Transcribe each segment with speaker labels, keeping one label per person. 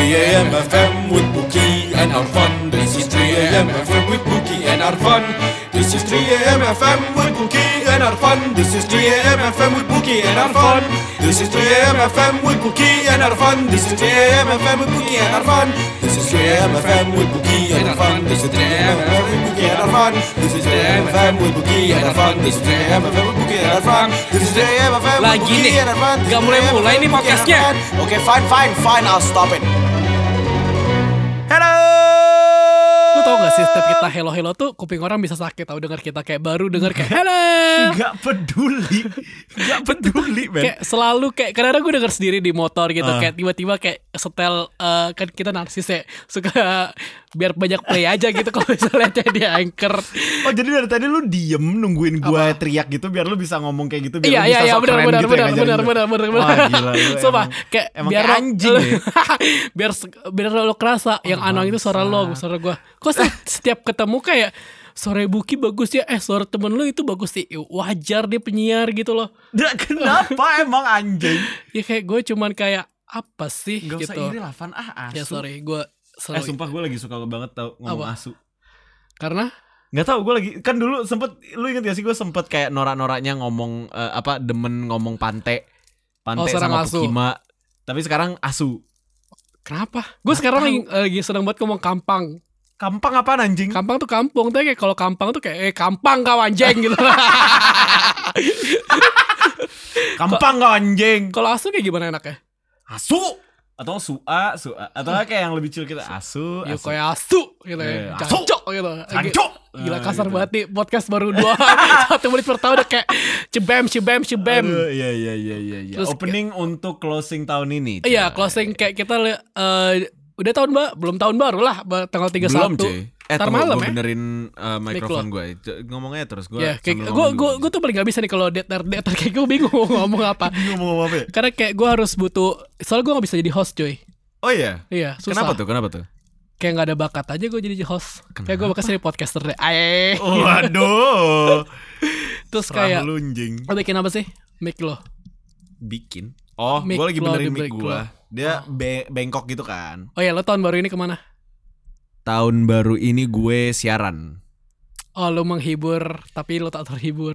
Speaker 1: 3am FM with Bookie and our fun. This is 3am FM with Bookie and our fun. This is 3am FM with Bookie and our fun. This is 3am FM with Bookie and our fun. This is 3am FM with Bookie and our fun. This is 3am FM with Bookie and our fun. This is 3am FM with Bookie and our fun. This is 3am FM with Bookie and our fun. This is 3am FM with Bookie and our fun. This is 3am FM with Bookie and our fun. This is 3am FM with Bookie and our fun.
Speaker 2: Gak mulai-mulai nih podcastnya.
Speaker 1: Oke, fine, I'll stop it.
Speaker 2: Lu tau gak sih setiap kita hello tuh kuping orang bisa sakit tau denger kita kayak baru denger kayak hello.
Speaker 3: Gak peduli men.
Speaker 2: Kayak selalu kayak kadang-kadang gue denger sendiri di motor gitu kayak tiba-tiba kayak setel kan kita narsis ya suka biar banyak play aja gitu kalau misalnya jadi anchor.
Speaker 3: Oh jadi dari tadi lu diem nungguin gue teriak gitu biar lu bisa ngomong kayak gitu biar lu bisa
Speaker 2: Iya
Speaker 3: sok keren gitu ya ngajarin gue.
Speaker 2: benar.
Speaker 3: Wah gila lu
Speaker 2: Sumpah kayak
Speaker 3: emang
Speaker 2: biar
Speaker 3: kayak anjing ya.
Speaker 2: biar lo kerasa yang anong itu suara lo, suara gue. Kok setiap ketemu kayak suara Buki bagus ya, suara temen lu itu bagus sih. Wajar dia penyiar gitu loh.
Speaker 3: Kenapa emang anjing?
Speaker 2: Ya kayak gue cuman kayak apa sih
Speaker 3: Gak
Speaker 2: gitu.
Speaker 3: usah iri lah Van asu.
Speaker 2: Ya sorry gue selalu
Speaker 3: Sumpah gue lagi suka banget tau ngomong
Speaker 2: Apa?
Speaker 3: asu.
Speaker 2: Karena
Speaker 3: Gak tau gue lagi kan dulu sempet, lu inget gak sih gue sempet kayak norak-noraknya ngomong demen ngomong pante sama
Speaker 2: asu.
Speaker 3: Pukima. Tapi sekarang asu.
Speaker 2: kenapa? Gue sekarang lagi seneng banget ngomong kampang.
Speaker 3: Kampang apaan anjing?
Speaker 2: Kampang tuh kampung, tapi kayak kalau kampang tuh kayak kampang kau anjing gitu.
Speaker 3: Kampang kau anjing.
Speaker 2: Kalau asu kayak gimana enaknya?
Speaker 3: Asu atau sua atau kayak yang lebih chill kita asu.
Speaker 2: Ya kayak asu gitu ya.
Speaker 3: Asu.
Speaker 2: Cancok gitu.
Speaker 3: Cancok.
Speaker 2: Gila kasar
Speaker 3: Gitu.
Speaker 2: banget nih. Podcast baru 1 menit pertama udah kayak cebem.
Speaker 3: Aduh, iya.
Speaker 2: Terus
Speaker 3: Opening untuk closing tahun ini.
Speaker 2: Iya, closing kayak kita udah belum tahun baru lah, tanggal 31.
Speaker 3: Belum cuy.
Speaker 2: Ntar
Speaker 3: tunggu,
Speaker 2: malam
Speaker 3: gue
Speaker 2: ya.
Speaker 3: benerin mikrofon gue. Ngomongnya terus gue.
Speaker 2: Ya, kayak gue tuh paling gak bisa nih kalau datar kayak gue bingung mau ngomong apa.
Speaker 3: Ngomong apa ya?
Speaker 2: Karena kayak gue harus butuh, soalnya gue gak bisa jadi host cuy.
Speaker 3: Oh iya.
Speaker 2: Iya, susah.
Speaker 3: Kenapa tuh?
Speaker 2: Kayak gak ada bakat aja gue jadi host. Kayak gue bakal jadi podcaster deh.
Speaker 3: Waduh.
Speaker 2: Terus kayak
Speaker 3: lunjing.
Speaker 2: lo bikin apa sih? Mic lo.
Speaker 3: Bikin. Oh,
Speaker 2: Mic
Speaker 3: gue lagi
Speaker 2: lo,
Speaker 3: benerin
Speaker 2: di
Speaker 3: mic
Speaker 2: mic
Speaker 3: gue.
Speaker 2: lo.
Speaker 3: Dia bengkok gitu kan.
Speaker 2: Oh ya, lo tahun baru ini kemana?
Speaker 3: Tahun baru ini gue siaran.
Speaker 2: Oh, lo menghibur tapi lo tak terhibur.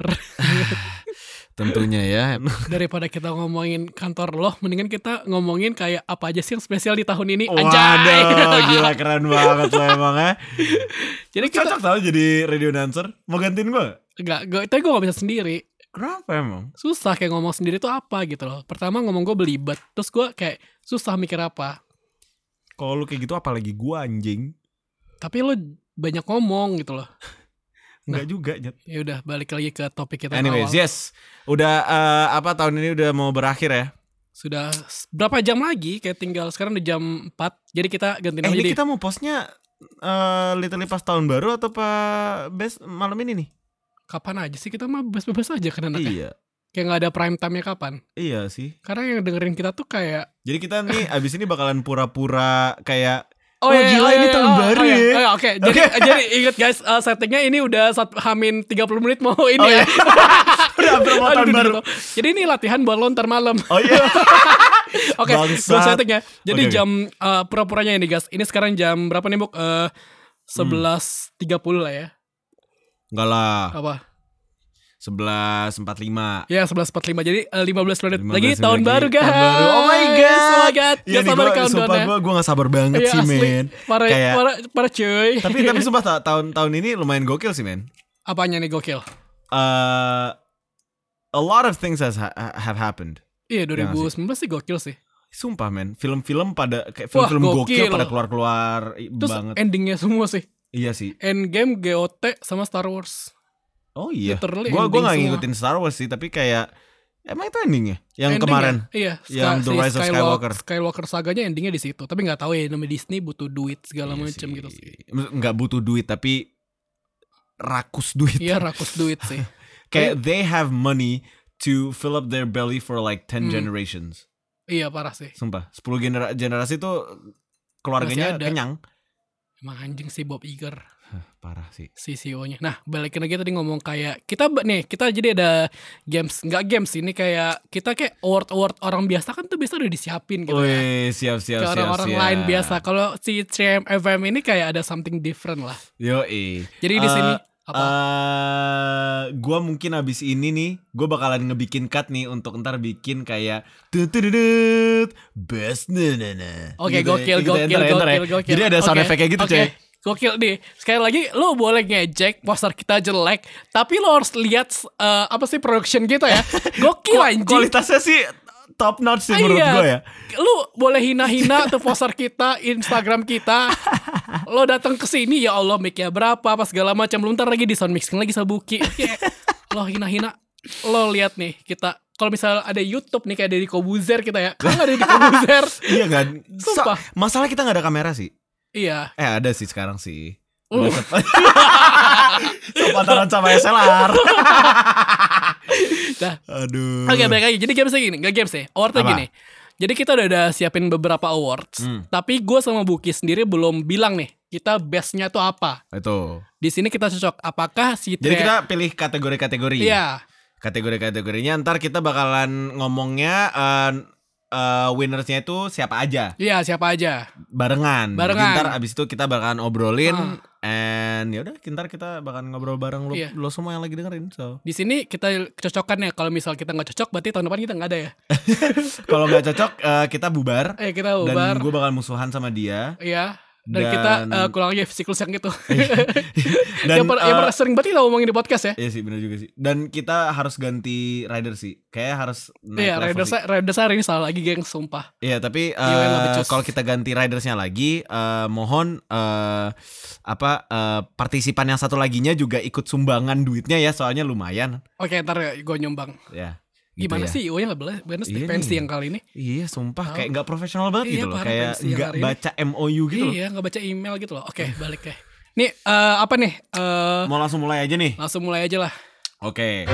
Speaker 3: Tentunya ya.
Speaker 2: Daripada kita ngomongin kantor lo, mendingan kita ngomongin kayak apa aja sih yang spesial di tahun ini.
Speaker 3: Waduh, gila keren banget lo emang ya.
Speaker 2: Jadi kita
Speaker 3: Cocok tau jadi radio announcer. Mau gantiin gue?
Speaker 2: tapi gue gak bisa sendiri.
Speaker 3: Kenapa emang?
Speaker 2: Susah kayak ngomong sendiri tuh apa gitu loh. Pertama ngomong gue belibet, terus gue kayak susah mikir apa.
Speaker 3: Kalau lu kayak gitu apalagi gue anjing.
Speaker 2: Tapi lo banyak ngomong gitu loh.
Speaker 3: Enggak juga Nyet.
Speaker 2: Ya udah balik lagi ke topik kita
Speaker 3: Anyways,
Speaker 2: awal.
Speaker 3: yes. Udah tahun ini udah mau berakhir ya.
Speaker 2: Sudah berapa jam lagi? Kayak tinggal sekarang udah jam 4. Jadi kita ganti nama
Speaker 3: Ini
Speaker 2: jadi.
Speaker 3: kita mau postnya literally pas tahun baru atau pas malam ini nih?
Speaker 2: Kapan aja sih kita mah bebas-bebas aja kan anaknya.
Speaker 3: Iya.
Speaker 2: Kayak gak ada prime time-nya kapan.
Speaker 3: Iya sih.
Speaker 2: Karena yang dengerin kita tuh kayak
Speaker 3: Jadi kita nih abis ini bakalan pura-pura kayak
Speaker 2: iya,
Speaker 3: gila ini tahun baru ya.
Speaker 2: Oke. Jadi ingat guys, settingnya ini udah hamin 30 menit mau ini ya.
Speaker 3: Udah hampir mau tahun baru.
Speaker 2: Jadi ini latihan buat lo ntar malam.
Speaker 3: Oh iya.
Speaker 2: Oke, gue
Speaker 3: Bangsat.
Speaker 2: setting ya. Jadi
Speaker 3: Oke.
Speaker 2: jam pura-puranya ini guys. Ini sekarang jam berapa nih Buk? 11.30 lah ya.
Speaker 3: Enggak lah.
Speaker 2: Apa?
Speaker 3: 11.45.
Speaker 2: Ya 11.45. Jadi 15 menit
Speaker 3: 15
Speaker 2: lagi
Speaker 3: menit
Speaker 2: tahun
Speaker 3: lagi.
Speaker 2: baru guys.
Speaker 3: Tahun baru. Oh my god.
Speaker 2: Oh my god.
Speaker 3: Iya nih
Speaker 2: sabar
Speaker 3: gue
Speaker 2: countdown
Speaker 3: sumpah
Speaker 2: ya.
Speaker 3: gue gak sabar banget
Speaker 2: Iya,
Speaker 3: sih
Speaker 2: asli.
Speaker 3: men. Kayak
Speaker 2: Parah cuy.
Speaker 3: tapi sumpah tahun ini lumayan gokil sih men.
Speaker 2: Apanya nih gokil?
Speaker 3: A lot of things have happened.
Speaker 2: Iya
Speaker 3: Iya
Speaker 2: 2019 sih gokil sih.
Speaker 3: Sumpah men, film-film pada kayak
Speaker 2: Wah,
Speaker 3: film-film
Speaker 2: gokil.
Speaker 3: gokil pada keluar-keluar
Speaker 2: Terus
Speaker 3: banget.
Speaker 2: endingnya semua sih.
Speaker 3: Iya sih.
Speaker 2: Endgame, GOT sama Star Wars.
Speaker 3: Oh iya.
Speaker 2: Literally
Speaker 3: Gue
Speaker 2: ending
Speaker 3: gak
Speaker 2: semua.
Speaker 3: ngikutin Star Wars sih, tapi kayak emang itu endingnya yang
Speaker 2: Ending
Speaker 3: kemarin.
Speaker 2: ya? Iya,
Speaker 3: Yang The Rise of Skywalker.
Speaker 2: Skywalker saganya endingnya di situ. Tapi nggak tahu ya namanya Disney butuh duit segala
Speaker 3: Iya
Speaker 2: macam
Speaker 3: sih.
Speaker 2: gitu sih.
Speaker 3: Nggak butuh duit tapi rakus duit.
Speaker 2: Iya rakus duit sih.
Speaker 3: Kayak they have money to fill up their belly for like 10 generations.
Speaker 2: Iya parah sih.
Speaker 3: Sumpah, 10 generasi tuh keluarganya
Speaker 2: Masih ada.
Speaker 3: kenyang.
Speaker 2: Emang anjing sih Bob Iger.
Speaker 3: Parah sih.
Speaker 2: si CEO-nya. Nah, balikin lagi tadi ngomong kayak kita jadi ada games, nggak games ini kayak kita kayak award orang biasa kan tuh biasa udah disiapin gitu ya.
Speaker 3: Wih, siap.
Speaker 2: Kayak orang-orang lain biasa. Kalau si 3M FM ini kayak ada something different lah.
Speaker 3: Yoi.
Speaker 2: Jadi di sini apa?
Speaker 3: Gua mungkin abis ini nih, gue bakalan ngebikin cut nih untuk ntar bikin kayak tutututut best
Speaker 2: Oke,
Speaker 3: gitu ya.
Speaker 2: gokil.
Speaker 3: Jadi ada sound effect kayak gitu, coy.
Speaker 2: Gokil nih. Sekali lagi lo boleh ngejek poster kita jelek, tapi lo harus lihat apa sih production kita ya. Gokil anjing.
Speaker 3: Kualitasnya sih top notch sih menurut gue ya.
Speaker 2: Lu boleh hina-hina tuh poster kita, Instagram kita. Lo datang ke sini ya Allah mic-nya berapa apa segala macam. Lu ntar lagi di sound mixing lagi Sabuki. Lo hina-hina. Lo lihat nih kita. Kalau misalnya ada YouTube nih kayak Deddy Kobuzer kita ya. Kan ada Deddy Kobuzer.
Speaker 3: Iya kan.
Speaker 2: Sumpah.
Speaker 3: Masalah kita gak ada kamera sih.
Speaker 2: Iya.
Speaker 3: Ada sih sekarang sih. Pacaran sama SLR.
Speaker 2: Nah,
Speaker 3: Aduh.
Speaker 2: Oke, balik lagi. Jadi gamesnya gini, gak games ya. Awardnya
Speaker 3: Apa?
Speaker 2: gini. Jadi kita udah ada siapin beberapa awards. Tapi gue sama Buki sendiri belum bilang nih kita bestnya tuh apa.
Speaker 3: Itu.
Speaker 2: Di sini kita cocok. Apakah si
Speaker 3: Jadi kita pilih kategori-kategori.
Speaker 2: Iya.
Speaker 3: Kategori-kategorinya ntar kita bakalan ngomongnya winnersnya itu siapa aja.
Speaker 2: Iya, siapa aja.
Speaker 3: Barengan.
Speaker 2: Barengan.
Speaker 3: Ntar abis itu kita bakalan obrolin and yaudah ntar kita bakalan ngobrol bareng lo,
Speaker 2: Iya.
Speaker 3: lo semua yang lagi dengerin. So
Speaker 2: Di sini kita cocokkan ya. Kalau misal kita nggak cocok, berarti tahun depan kita nggak ada ya.
Speaker 3: kalau nggak cocok kita bubar.
Speaker 2: Kita bubar.
Speaker 3: Dan gue bakal musuhan sama dia.
Speaker 2: Iya. Dan kita kurang lagi siklus yang gitu.
Speaker 3: Dan
Speaker 2: yang pernah sering banget kita ngomongin di podcast ya.
Speaker 3: iya sih benar juga sih. Dan kita harus ganti rider sih. Kayak harus naik
Speaker 2: Iya,
Speaker 3: level sih.
Speaker 2: Raiders hari ini salah lagi geng, sumpah.
Speaker 3: Iya tapi
Speaker 2: Iya, nggak becus.
Speaker 3: kalau kita ganti ridersnya lagi, mohon partisipan yang satu laginya juga ikut sumbangan duitnya ya, soalnya lumayan.
Speaker 2: Oke, ntar gue nyumbang.
Speaker 3: Ya. Gitu
Speaker 2: Gimana
Speaker 3: ya.
Speaker 2: sih IO-nya nggak boleh? Bener
Speaker 3: Iya
Speaker 2: pensi
Speaker 3: nih.
Speaker 2: yang kali ini.
Speaker 3: Iya sumpah
Speaker 2: Oh.
Speaker 3: kayak nggak profesional banget
Speaker 2: Iya,
Speaker 3: gitu loh,
Speaker 2: parah
Speaker 3: kayak
Speaker 2: pensi yang
Speaker 3: nggak
Speaker 2: hari ini.
Speaker 3: baca MOU gitu loh.
Speaker 2: Iya, nggak baca email gitu loh. Oke, balik ya. Nih apa nih?
Speaker 3: Mau langsung mulai aja nih.
Speaker 2: Langsung mulai aja lah.
Speaker 3: Oke.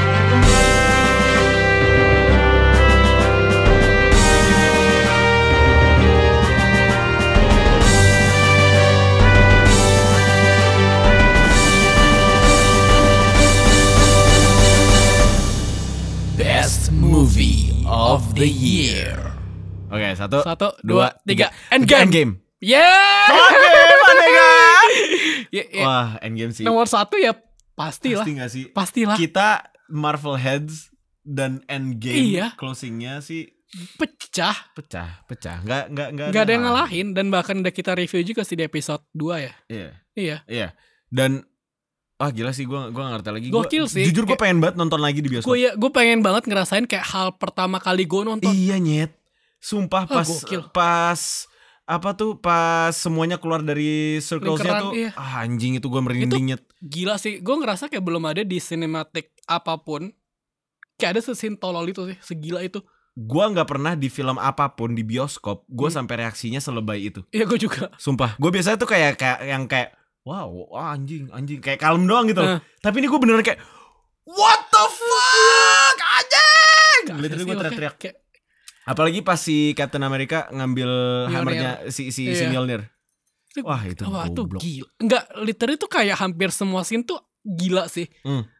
Speaker 1: Best movie of the year.
Speaker 3: Oke, satu,
Speaker 2: 1, 2, 3.
Speaker 3: Endgame.
Speaker 2: Yeah.
Speaker 3: Oke, Merdeka.
Speaker 2: Ya, ya.
Speaker 3: Wah, Endgame sih.
Speaker 2: Nomor 1 ya pastilah.
Speaker 3: Pasti gak sih?
Speaker 2: Pastilah.
Speaker 3: Kita Marvel Heads dan Endgame
Speaker 2: Iya.
Speaker 3: closingnya sih
Speaker 2: Pecah.
Speaker 3: pecah. Nggak
Speaker 2: Gak ada yang ngalahin. Dan bahkan udah kita review juga sih di episode 2 ya.
Speaker 3: Iya.
Speaker 2: Iya.
Speaker 3: Dan gila sih, gue gak ngerti lagi.
Speaker 2: Gokil sih.
Speaker 3: Jujur gue pengen banget nonton lagi di bioskop.
Speaker 2: Gue pengen banget ngerasain kayak hal pertama kali gue nonton.
Speaker 3: Iya nyet. Sumpah
Speaker 2: Gokil.
Speaker 3: pas semuanya keluar dari circlesnya
Speaker 2: Lingkaran,
Speaker 3: tuh
Speaker 2: iya.
Speaker 3: anjing itu gue merinding nyet.
Speaker 2: Gila sih. Gue ngerasa kayak belum ada di sinematik apapun. Kayak ada sesin tolol itu sih. Segila itu.
Speaker 3: Gue nggak pernah di film apapun di bioskop gue sampai reaksinya selebay itu.
Speaker 2: Iya, gue juga.
Speaker 3: Sumpah, gue biasanya tuh kayak wow, anjing kayak kalem doang gitu loh. Tapi ini gue beneran kayak what the fuck anjing. Literally gue teriak-teriak.
Speaker 2: Kayak,
Speaker 3: Apalagi pas si Captain America ngambil hammernya si
Speaker 2: Iya.
Speaker 3: Mjolnir. Wah itu
Speaker 2: tuh
Speaker 3: goblok.
Speaker 2: gila. Enggak, literally tuh kayak hampir semua scene tuh gila sih.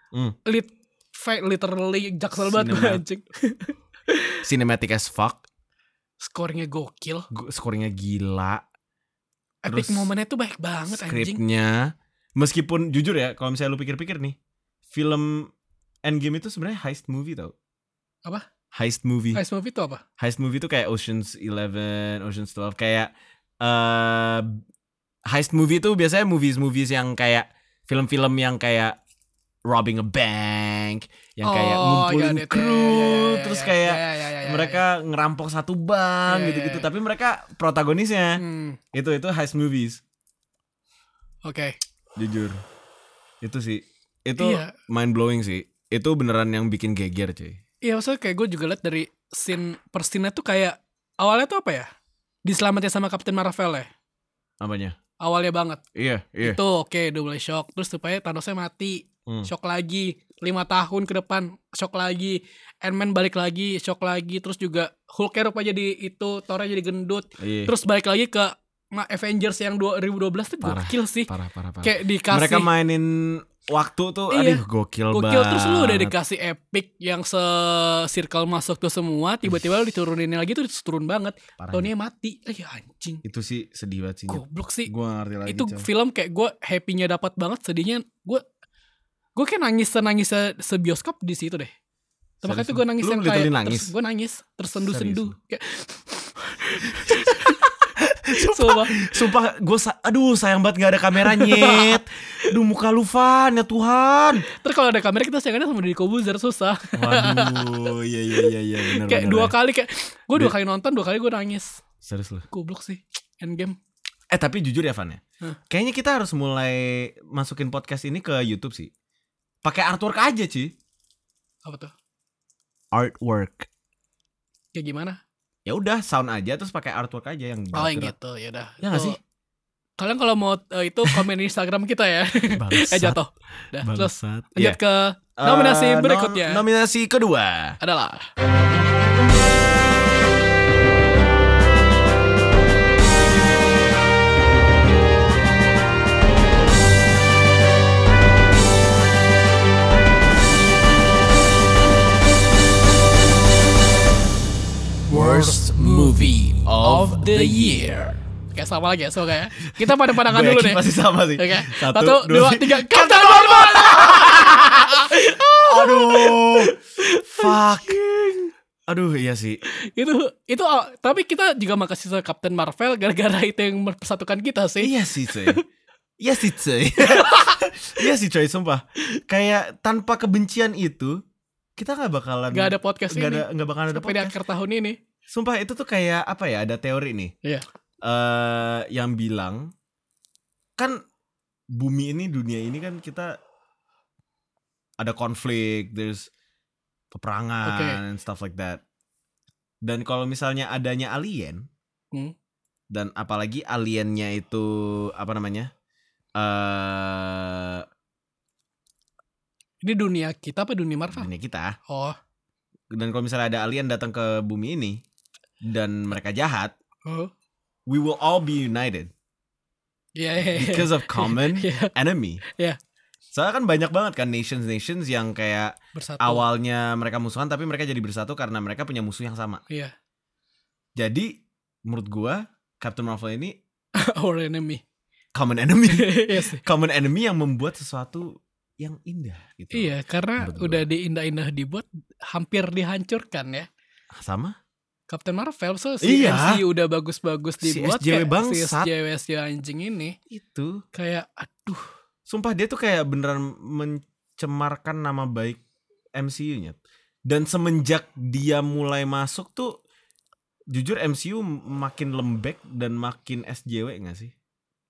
Speaker 2: Literally jaksel banget gue anjing.
Speaker 3: Cinematic as fuck.
Speaker 2: Skornya gokil.
Speaker 3: Skornya gila.
Speaker 2: Epic
Speaker 3: Terus
Speaker 2: momennya tuh baik banget anjing.
Speaker 3: Skripnya, meskipun jujur ya, kalau misalnya lu pikir-pikir nih, film Endgame itu sebenarnya heist movie tau.
Speaker 2: Apa?
Speaker 3: Heist movie.
Speaker 2: Heist movie itu apa?
Speaker 3: Heist movie itu kayak Ocean's 11, Ocean's 12, kayak heist movie itu biasanya movies yang kayak film-film yang kayak robbing a bank, yang kayak ngumpulin kru, terus kayak mereka ngerampok satu bank gitu-gitu, tapi mereka protagonisnya. Itu heist movies.
Speaker 2: Oke.
Speaker 3: Jujur. Itu sih. Itu
Speaker 2: Iya.
Speaker 3: mind blowing sih. Itu beneran yang bikin geger, cuy.
Speaker 2: Iya, maksudnya kayak gue juga liat dari scene per scene-nya tuh kayak awalnya tuh apa ya? Diselamatin sama Captain Marvel ya.
Speaker 3: Apanya?
Speaker 2: Awalnya banget.
Speaker 3: Iya.
Speaker 2: Itu oke, udah mulai shock. Terus supaya Thanosnya mati. Shock lagi. 5 tahun ke depan shock lagi. Ant-Man balik lagi, shock lagi. Terus juga Hulk-nya rupanya jadi itu, Thor-nya jadi gendut.
Speaker 3: Iya.
Speaker 2: Terus balik lagi ke Avengers yang 2012 tuh gokil sih.
Speaker 3: Parah.
Speaker 2: Kayak dikasih
Speaker 3: Mereka mainin waktu tuh aduh gokil banget.
Speaker 2: Terus lu udah dikasih epic yang se-circle masuk tuh semua, tiba-tiba lu diturunin lagi tuh turun banget. Tony mati. Anjing.
Speaker 3: Itu sih sedih banget sih.
Speaker 2: Goblok sih.
Speaker 3: Gua ngerti lagi.
Speaker 2: Itu film kayak gue happy-nya dapat banget, sedihnya gue kayak nangis sebioskop di situ deh. Makanya tuh gue nangis yang kayak gue nangis tersendu-sendu kayak
Speaker 3: Sumpah gue sayang banget gak ada kameranya. Aduh muka lu Van, ya Tuhan.
Speaker 2: Terus kalau ada kamera kita sayangnya sama Deddy Corbuzier susah.
Speaker 3: Waduh iya bener.
Speaker 2: Kayak 2 kali kayak gue 2 kali nonton 2 kali gue nangis.
Speaker 3: Serius lu?
Speaker 2: Goblok sih Endgame.
Speaker 3: Tapi jujur ya Van ya, kayaknya kita harus mulai masukin podcast ini ke YouTube sih. Pakai artwork aja Ci.
Speaker 2: Apa tuh?
Speaker 3: Artwork.
Speaker 2: Kayak gimana?
Speaker 3: Ya udah sound aja terus pakai artwork aja yang
Speaker 2: yang gitu ya udah.
Speaker 3: Ya nggak sih?
Speaker 2: Kalian kalau mau itu komen di Instagram kita ya. Jatuh. Dah, terus lanjut ke nominasi berikutnya.
Speaker 3: Nominasi kedua
Speaker 2: adalah
Speaker 1: Worst Movie of the Year.
Speaker 2: Oke, sama lagi ya, semoga ya. Kita pada pandangan dulu deh.
Speaker 3: Pasti sama sih.
Speaker 2: Oke.
Speaker 3: 1,
Speaker 2: 2, 3. Captain Marvel.
Speaker 3: Aduh. Fuck. Aduh, iya sih.
Speaker 2: Itu tapi kita juga makasih sama Captain Marvel gara-gara itu yang mempersatukan kita sih.
Speaker 3: Iya sih, coy. Iya sih, coy, sumpah. Kayak tanpa kebencian itu kita gak bakalan
Speaker 2: ada podcast ini.
Speaker 3: Gak bakalan ada
Speaker 2: podcast sampai di akhir tahun ini.
Speaker 3: Sumpah itu tuh kayak apa ya, ada teori nih.
Speaker 2: Iya.
Speaker 3: Yang bilang kan dunia ini kan kita ada konflik, there's peperangan and stuff like that. Dan kalau misalnya adanya alien, dan apalagi aliennya itu apa namanya?
Speaker 2: Ini dunia kita apa dunia Marvel?
Speaker 3: Dunia kita.
Speaker 2: Oh.
Speaker 3: Dan kalau misalnya ada alien datang ke bumi ini dan mereka jahat, we will all be united.
Speaker 2: Yeah.
Speaker 3: Because of common enemy.
Speaker 2: Yeah.
Speaker 3: Soalnya kan banyak banget kan nations yang kayak
Speaker 2: bersatu.
Speaker 3: Awalnya mereka musuhan tapi mereka jadi bersatu karena mereka punya musuh yang sama.
Speaker 2: Iya.
Speaker 3: Jadi menurut gua Captain Marvel ini
Speaker 2: our enemy.
Speaker 3: Common enemy.
Speaker 2: Yes.
Speaker 3: Common enemy yang membuat sesuatu yang indah gitu.
Speaker 2: Iya, karena udah diindah-indah dibuat hampir dihancurkan ya.
Speaker 3: Sama
Speaker 2: Captain Marvel si MCU udah bagus-bagus dibuat
Speaker 3: si
Speaker 2: SJW anjing ini.
Speaker 3: Itu
Speaker 2: kayak aduh.
Speaker 3: Sumpah dia tuh kayak beneran mencemarkan nama baik MCU-nya. Dan semenjak dia mulai masuk tuh jujur MCU makin lembek dan makin SJW gak sih?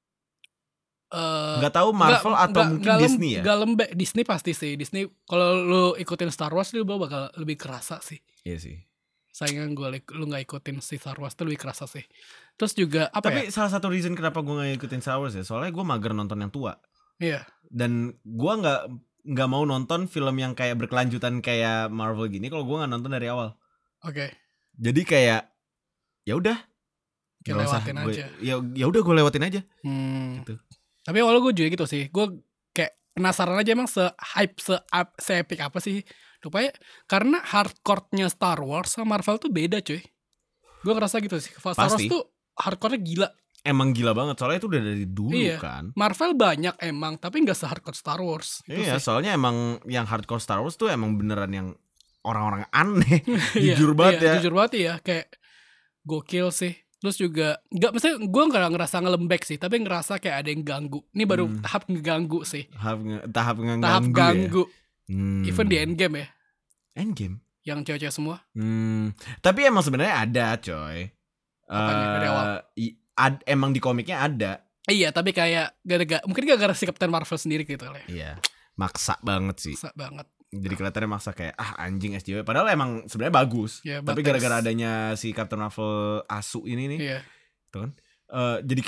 Speaker 3: Gak tahu Marvel atau mungkin Disney ya?
Speaker 2: Gak lembek, Disney pasti sih. Disney kalau lu ikutin Star Wars lu bakal lebih kerasa sih.
Speaker 3: Iya sih.
Speaker 2: Sayangnya lu gak ikutin si Star Wars tuh lebih kerasa sih. Terus juga apa
Speaker 3: Tapi salah satu reason kenapa gue gak ikutin Star Wars ya, soalnya gue mager nonton yang tua.
Speaker 2: Iya.
Speaker 3: Dan gue gak mau nonton film yang kayak berkelanjutan kayak Marvel gini kalau gue gak nonton dari awal.
Speaker 2: Oke.
Speaker 3: Jadi kayak ya udah
Speaker 2: lewatin aja.
Speaker 3: Ya udah gue lewatin aja. Gitu.
Speaker 2: Tapi awalnya gue juga gitu sih. Gue kayak penasaran aja emang se-hype, se-epic apa sih. Rupanya karena hardcore-nya Star Wars sama Marvel tuh beda cuy. Gue ngerasa gitu sih. Star Wars tuh hardcore-nya gila.
Speaker 3: Emang gila banget. Soalnya itu udah dari dulu kan.
Speaker 2: Marvel banyak emang. Tapi gak se-hardcore Star Wars gitu
Speaker 3: iya
Speaker 2: sih.
Speaker 3: Soalnya emang yang hardcore Star Wars tuh emang beneran yang orang-orang aneh. Jujur banget ya.
Speaker 2: Jujur banget ya. Kayak gokil sih. Terus juga maksudnya gue gak ngerasa ngelembek sih, tapi ngerasa kayak ada yang ganggu. Ini baru tahap ngeganggu sih.
Speaker 3: Tahap ganggu
Speaker 2: ya? Even di Endgame ya.
Speaker 3: Endgame?
Speaker 2: Yang cewek-cewek semua.
Speaker 3: Tapi emang sebenarnya ada coy.
Speaker 2: Dari awal?
Speaker 3: Emang di komiknya ada.
Speaker 2: Iya, tapi kayak mungkin gara-gara si Captain Marvel sendiri gitu lah.
Speaker 3: Iya, maksa banget sih.
Speaker 2: Maksa banget.
Speaker 3: Jadi kelihatannya maksa kayak anjing SJW. Padahal emang sebenarnya bagus.
Speaker 2: Yeah,
Speaker 3: tapi gara-gara adanya si Captain Marvel asu ini nih, tuh kan, jadi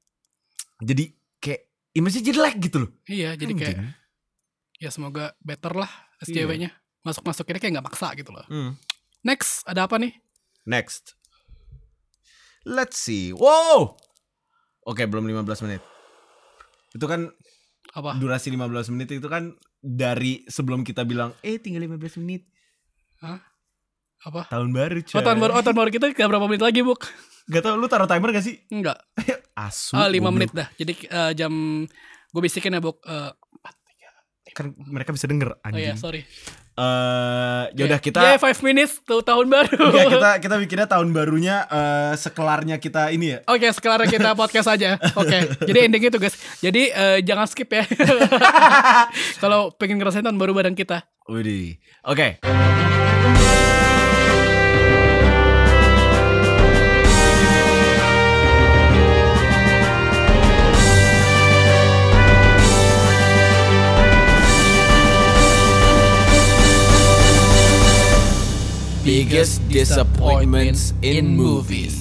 Speaker 3: kayak image-nya jelek gitu loh.
Speaker 2: Iya, jadi kayak ya semoga better lah SJW-nya. Masuk-masukinnya kayak nggak maksa gitu loh. Next, ada apa nih?
Speaker 3: Next, let's see. Wow, Oke, belum 15 menit. Itu kan
Speaker 2: Apa?
Speaker 3: durasi 15 menit itu kan dari sebelum kita bilang tinggal 15 menit.
Speaker 2: Hah? Apa?
Speaker 3: Tahun baru, coy.
Speaker 2: Tahun baru kita gak berapa menit lagi, Buk?
Speaker 3: Gak tau, lu taruh timer gak sih?
Speaker 2: Enggak.
Speaker 3: Asu.
Speaker 2: 5 menit dah. Jadi jam gue bisikin ya, Buk. 4, 3.
Speaker 3: Kan mereka bisa denger
Speaker 2: Oh iya,
Speaker 3: anjing.
Speaker 2: sorry.
Speaker 3: Yaudah kita
Speaker 2: 5 minutes tuh tahun baru.
Speaker 3: kita bikinnya tahun barunya sekelarnya kita ini ya.
Speaker 2: Oke, sekarang kita podcast aja. Oke, jadi ending itu guys. Jadi jangan skip ya. Kalau pengen ngerasain tahun baru bareng kita.
Speaker 3: Widih. Oke.
Speaker 1: Biggest disappointments in movies.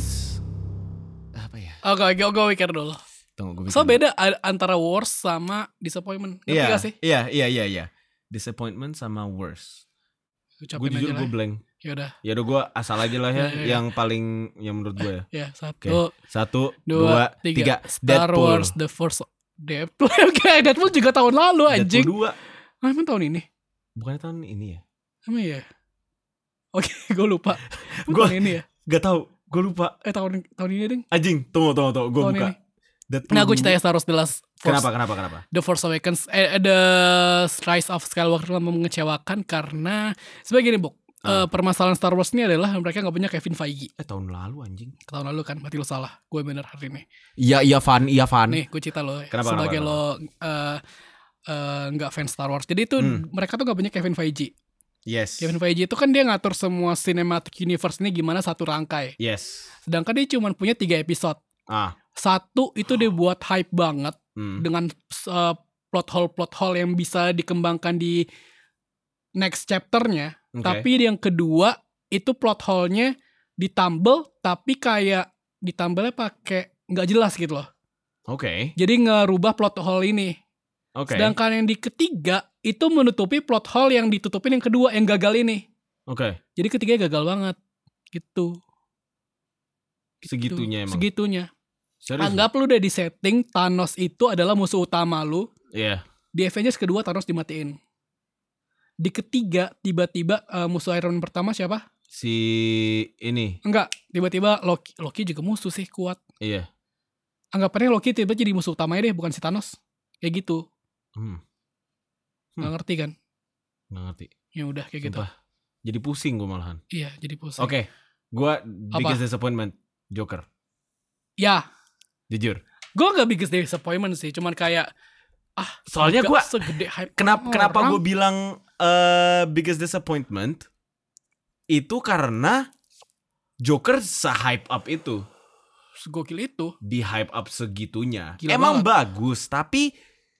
Speaker 3: Apa ya?
Speaker 2: Oke, gue mikir dulu.
Speaker 3: Tunggu, gue
Speaker 2: So beda antara worst sama disappointment. Ngerti gak sih?
Speaker 3: Iya. Disappointment sama worst. Gue jujur gue blank.
Speaker 2: Yaudah.
Speaker 3: Yaudah gue asal aja lah ya.
Speaker 2: Ya.
Speaker 3: Yang paling yang menurut gue ya.
Speaker 2: Ya,
Speaker 3: Oke.
Speaker 2: 1,
Speaker 3: 1, 2, 3.
Speaker 2: Star Wars The Force. Deadpool. Oke, Deadpool juga tahun lalu anjing.
Speaker 3: Deadpool 2.
Speaker 2: Emang tahun ini?
Speaker 3: Bukannya tahun ini ya?
Speaker 2: Emang iya? Oke, gue lupa.
Speaker 3: Gua-
Speaker 2: Tahun ini ya?
Speaker 3: Gak tahu. Gue lupa.
Speaker 2: Tahun ini deng.
Speaker 3: Anjing. Tunggu. Gue
Speaker 2: Tahun
Speaker 3: buka.
Speaker 2: ini.
Speaker 3: Deadpool
Speaker 2: Nah, gue
Speaker 3: 2.
Speaker 2: ceritanya Star Wars The Last Force.
Speaker 3: Kenapa?
Speaker 2: The Force Awakens. The Rise of Skywalker mengecewakan karena sebagai gini, Buk. Permasalahan Star Wars ini adalah mereka gak punya Kevin Feige.
Speaker 3: Tahun lalu anjing.
Speaker 2: Tahun lalu kan, berarti lo salah. Gue bener hari ini.
Speaker 3: Iya Van.
Speaker 2: Nih, gue cerita lo.
Speaker 3: Kenapa?
Speaker 2: Sebagai lo gak fans Star Wars. Jadi itu mereka tuh gak punya Kevin Feige.
Speaker 3: Yes.
Speaker 2: Kevin Feige itu kan dia ngatur semua cinematic universe ini gimana satu rangkai.
Speaker 3: Yes.
Speaker 2: Sedangkan dia cuma punya 3 episode. 1 itu dia buat hype banget dengan plot hole yang bisa dikembangkan di next chapternya.
Speaker 3: Okay.
Speaker 2: Tapi yang kedua itu plot hole-nya ditambel tapi kayak ditambelnya pakai nggak jelas gitu loh.
Speaker 3: Oke.
Speaker 2: Jadi ngerubah plot hole ini.
Speaker 3: Oke.
Speaker 2: Sedangkan yang di ketiga itu menutupi plot hole yang ditutupin yang kedua yang gagal ini.
Speaker 3: Oke.
Speaker 2: Jadi ketiganya gagal banget gitu.
Speaker 3: Segitunya emang.
Speaker 2: Segitunya.
Speaker 3: Serius?
Speaker 2: Anggap lu udah di setting Thanos itu adalah musuh utama lu.
Speaker 3: Iya.
Speaker 2: Di Avengers kedua Thanos dimatiin. Di ketiga tiba-tiba musuh Iron Man pertama siapa?
Speaker 3: Si ini.
Speaker 2: Enggak, tiba-tiba Loki juga musuh sih kuat.
Speaker 3: Iya.
Speaker 2: Anggapannya Loki tiba-tiba jadi musuh utamanya deh, bukan si Thanos. Kayak gitu. Nggak ngerti kan?
Speaker 3: Nggak ngerti.
Speaker 2: Ya udah kayak gitu.
Speaker 3: Sumpah. Jadi pusing gue malahan.
Speaker 2: Iya, jadi pusing.
Speaker 3: Oke. Gue biggest disappointment Joker.
Speaker 2: Ya,
Speaker 3: Jujur.
Speaker 2: gue gak biggest disappointment sih, cuman kayak
Speaker 3: Soalnya gue
Speaker 2: segede hype.
Speaker 3: kenapa gue bilang biggest disappointment itu karena Joker se-hype up itu.
Speaker 2: Segokil itu.
Speaker 3: Di hype up segitunya.
Speaker 2: Gila
Speaker 3: Emang
Speaker 2: banget.
Speaker 3: bagus, tapi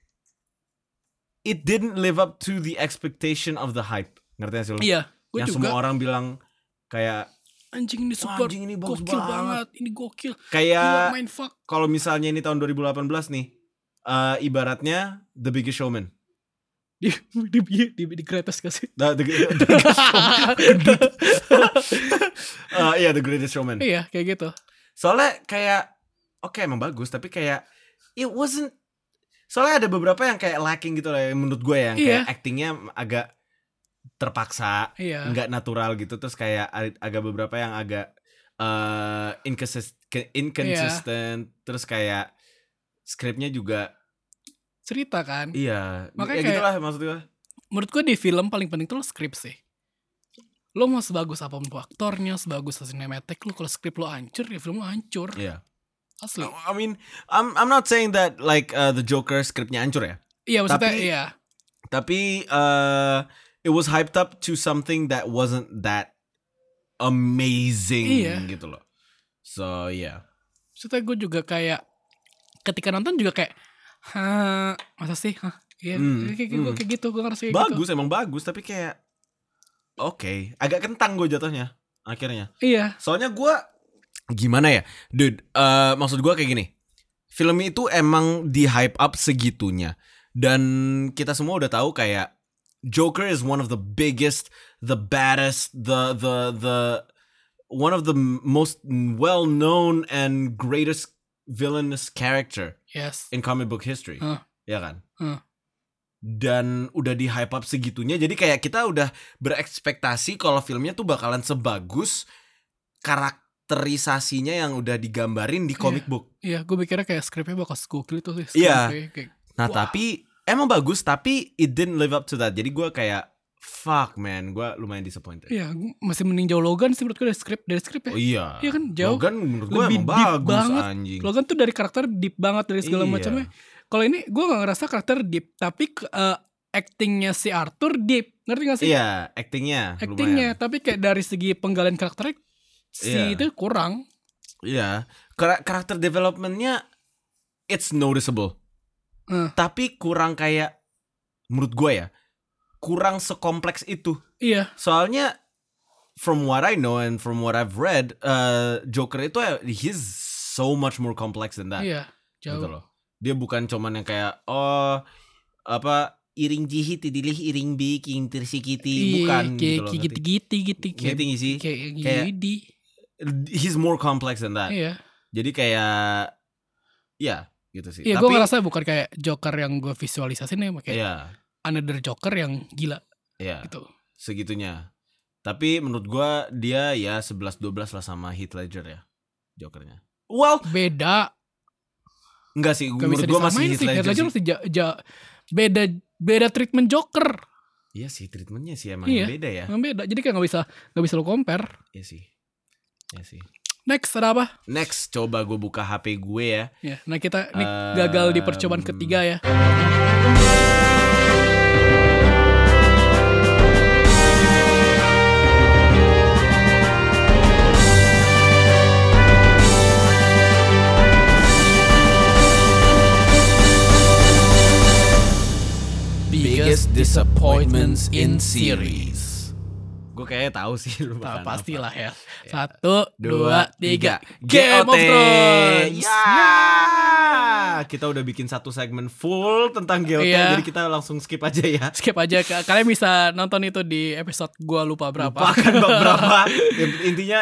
Speaker 3: it didn't live up to the expectation of the hype. Ngerti gak sih lo?
Speaker 2: Iya, gue
Speaker 3: Yang
Speaker 2: juga.
Speaker 3: semua orang bilang kayak
Speaker 2: Anjing ini super.
Speaker 3: anjing ini bagus
Speaker 2: gokil
Speaker 3: banget.
Speaker 2: banget. Ini gokil. Gila,
Speaker 3: Kayak
Speaker 2: main fuck.
Speaker 3: kalau misalnya ini tahun 2018 nih, ibaratnya The Biggest Showman.
Speaker 2: Di greatest gak sih?
Speaker 3: The Biggest Showman. Iya, The Greatest Showman.
Speaker 2: Iya, kayak gitu.
Speaker 3: Soalnya kayak oke, emang bagus, tapi kayak it wasn't. Soalnya ada beberapa yang kayak lacking gitu lah menurut gue, yang kayak actingnya agak terpaksa, nggak natural gitu. Terus kayak agak beberapa yang agak inconsistent. Terus kayak skripnya juga
Speaker 2: Cerita kan.
Speaker 3: iya,
Speaker 2: Makanya
Speaker 3: ya
Speaker 2: kayak,
Speaker 3: gitulah maksud gue.
Speaker 2: menurut gue di film paling penting tuh lo skrip sih. Lo mau sebagus apapun aktornya, sebagus cinematic, lo kalau skrip lo hancur, ya film lo hancur.
Speaker 3: Iya.
Speaker 2: Asli.
Speaker 3: I mean, I'm not saying that like the Joker skripnya hancur ya.
Speaker 2: Iya, maksudnya
Speaker 3: Tapi-
Speaker 2: iya.
Speaker 3: Tapi it was hyped up to something that wasn't that amazing gitu loh. So yeah.
Speaker 2: Maksudnya gue juga kayak ketika nonton juga kayak masa sih? Iya, kayak gitu, gue ngerasa kayak
Speaker 3: Bagus,
Speaker 2: gitu.
Speaker 3: emang bagus, tapi kayak oke, agak kentang gue jatuhnya akhirnya.
Speaker 2: Iya.
Speaker 3: Soalnya gue gimana ya, dude, maksud gue kayak gini. Film itu emang di hype up segitunya, dan kita semua udah tahu kayak Joker is one of the biggest, the baddest, the one of the most well known and greatest villainous character
Speaker 2: Yes.
Speaker 3: in comic book history. Ya kan? Dan udah di hype up segitunya, jadi kayak kita udah berekspektasi kalau filmnya tuh bakalan sebagus karakterisasinya yang udah digambarin di comic book.
Speaker 2: Iya, gue mikirnya kayak skripnya bakal gokil itu sih.
Speaker 3: Iya.
Speaker 2: Kayak,
Speaker 3: Nah tapi emang bagus, tapi it didn't live up to that. Jadi gue kayak fuck man, gue lumayan disappointed.
Speaker 2: Iya, masih mending jauh Logan sih menurut gue dari skrip ya.
Speaker 3: Oh iya.
Speaker 2: Iya kan jauh.
Speaker 3: Logan menurut gue
Speaker 2: lebih
Speaker 3: emang
Speaker 2: deep
Speaker 3: bagus
Speaker 2: banget.
Speaker 3: anjing.
Speaker 2: Logan tuh dari karakter deep banget dari segala macamnya. Kalau ini gue gak ngerasa karakter deep, tapi actingnya si Arthur deep, ngerti gak sih?
Speaker 3: Iya, actingnya lumayan.
Speaker 2: Tapi kayak dari segi penggalian karakternya itu kurang.
Speaker 3: Iya, karakter developmentnya it's noticeable. Tapi kurang kayak, menurut gue ya, kurang sekompleks itu.
Speaker 2: Iya.
Speaker 3: Soalnya from what I know and from what I've read, Joker itu he's so much more complex than that.
Speaker 2: Iya, jauh.
Speaker 3: Gitu loh. Dia bukan cuman yang kayak iring jihit tidilih iring bi king tersikiti, bukan gitu loh.
Speaker 2: Gitu
Speaker 3: sih.
Speaker 2: Kayak
Speaker 3: he's more complex than that.
Speaker 2: Iya.
Speaker 3: Jadi kayak ya gitu sih.
Speaker 2: Iya, gue ngerasa bukan kayak Joker yang gue visualisasin ya, kayak another Joker yang gila.
Speaker 3: Iya.
Speaker 2: Gitu.
Speaker 3: Segitunya. Tapi menurut gue dia ya 11-12 lah sama Heath Ledger ya, Jokernya. Well,
Speaker 2: beda.
Speaker 3: Enggak sih, menurut gue masih Heath Ledger
Speaker 2: sih. Beda treatment Joker.
Speaker 3: Iya sih, treatmentnya sih emang beda ya.
Speaker 2: Emang beda, jadi kayak gak bisa lo compare.
Speaker 3: Iya sih.
Speaker 2: Next ada apa?
Speaker 3: Next, coba gue buka HP gue ya.
Speaker 2: Nah kita ini gagal di percobaan ketiga ya.
Speaker 1: Biggest disappointments in series.
Speaker 3: Gue kayaknya tahu sih lu bakal
Speaker 2: pastilah ya. 1, 2, 3.
Speaker 3: Game of
Speaker 2: Thrones.
Speaker 3: Ya. Kita udah bikin satu segmen full tentang GOT, jadi kita langsung skip aja ya.
Speaker 2: Skip aja. Kalian bisa nonton itu di episode gua lupa berapa.
Speaker 3: Lupakan berapa. Intinya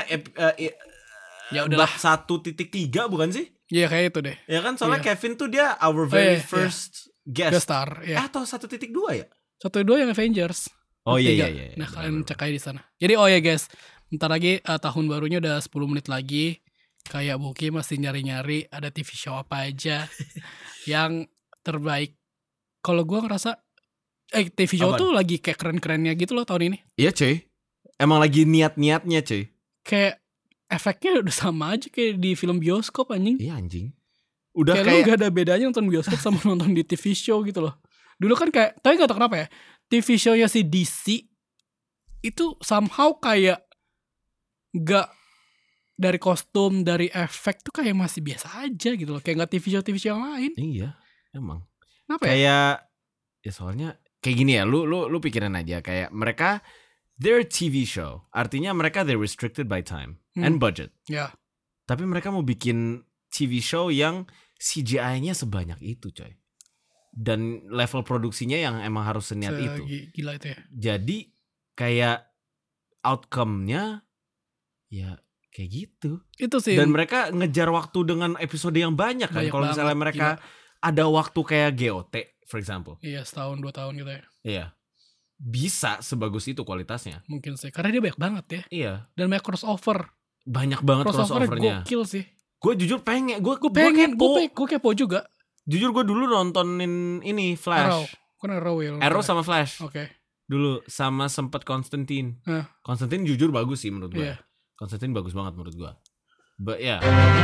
Speaker 2: ya udahlah.
Speaker 3: 1.3 bukan sih?
Speaker 2: Iya kayak itu deh.
Speaker 3: Ya kan soalnya Kevin tuh dia our very first guest
Speaker 2: star.
Speaker 3: Atau 1.2 ya?
Speaker 2: 1.2 yang Avengers.
Speaker 3: Oh iya.
Speaker 2: Nah kalian cek aja di sana. Jadi ya guys, bentar lagi tahun barunya udah 10 menit lagi. Kayak Buki masih nyari-nyari ada TV show apa aja yang terbaik. Kalau gue ngerasa TV show tuh lagi kayak keren-kerennya gitu loh tahun ini.
Speaker 3: Iya cuy, emang lagi niat-niatnya cuy.
Speaker 2: Kayak efeknya udah sama aja kayak di film bioskop anjing.
Speaker 3: Iya anjing. Udah
Speaker 2: kayak lu gak ada bedanya nonton bioskop sama nonton di TV show gitu loh. Dulu kan kayak, tapi gak tau kenapa ya, TV show-nya si DC itu somehow kayak gak, dari kostum, dari efek tuh kayak masih biasa aja gitu loh. Kayak gak TV show yang lain.
Speaker 3: Iya, emang.
Speaker 2: Kenapa
Speaker 3: kayak, ya soalnya kayak gini ya, lu pikirin aja kayak mereka, they're a TV show. Artinya mereka they're restricted by time and budget.
Speaker 2: Ya.
Speaker 3: Tapi mereka mau bikin TV show yang CGI-nya sebanyak itu coy. Dan level produksinya yang emang harus seniat itu.
Speaker 2: Gila itu ya.
Speaker 3: Jadi kayak outcome-nya ya kayak gitu.
Speaker 2: Itu sih.
Speaker 3: Dan mereka ngejar waktu dengan episode yang banyak kan. Kalau misalnya mereka ada waktu kayak GOT for example.
Speaker 2: Iya, setahun 2 tahun gitu ya.
Speaker 3: Iya. Bisa sebagus itu kualitasnya.
Speaker 2: Mungkin sih. Karena dia banyak banget ya.
Speaker 3: Iya.
Speaker 2: Dan banyak crossover.
Speaker 3: Banyak banget crossovernya.
Speaker 2: Gokil sih.
Speaker 3: Gue jujur pengen. Gue
Speaker 2: kepo juga.
Speaker 3: Jujur gue dulu nontonin ini Flash. Arrow sama Flash.
Speaker 2: Oke.
Speaker 3: Dulu sama sempet Constantine. Constantine jujur bagus sih menurut gue. Constantine bagus banget menurut gue. But yeah.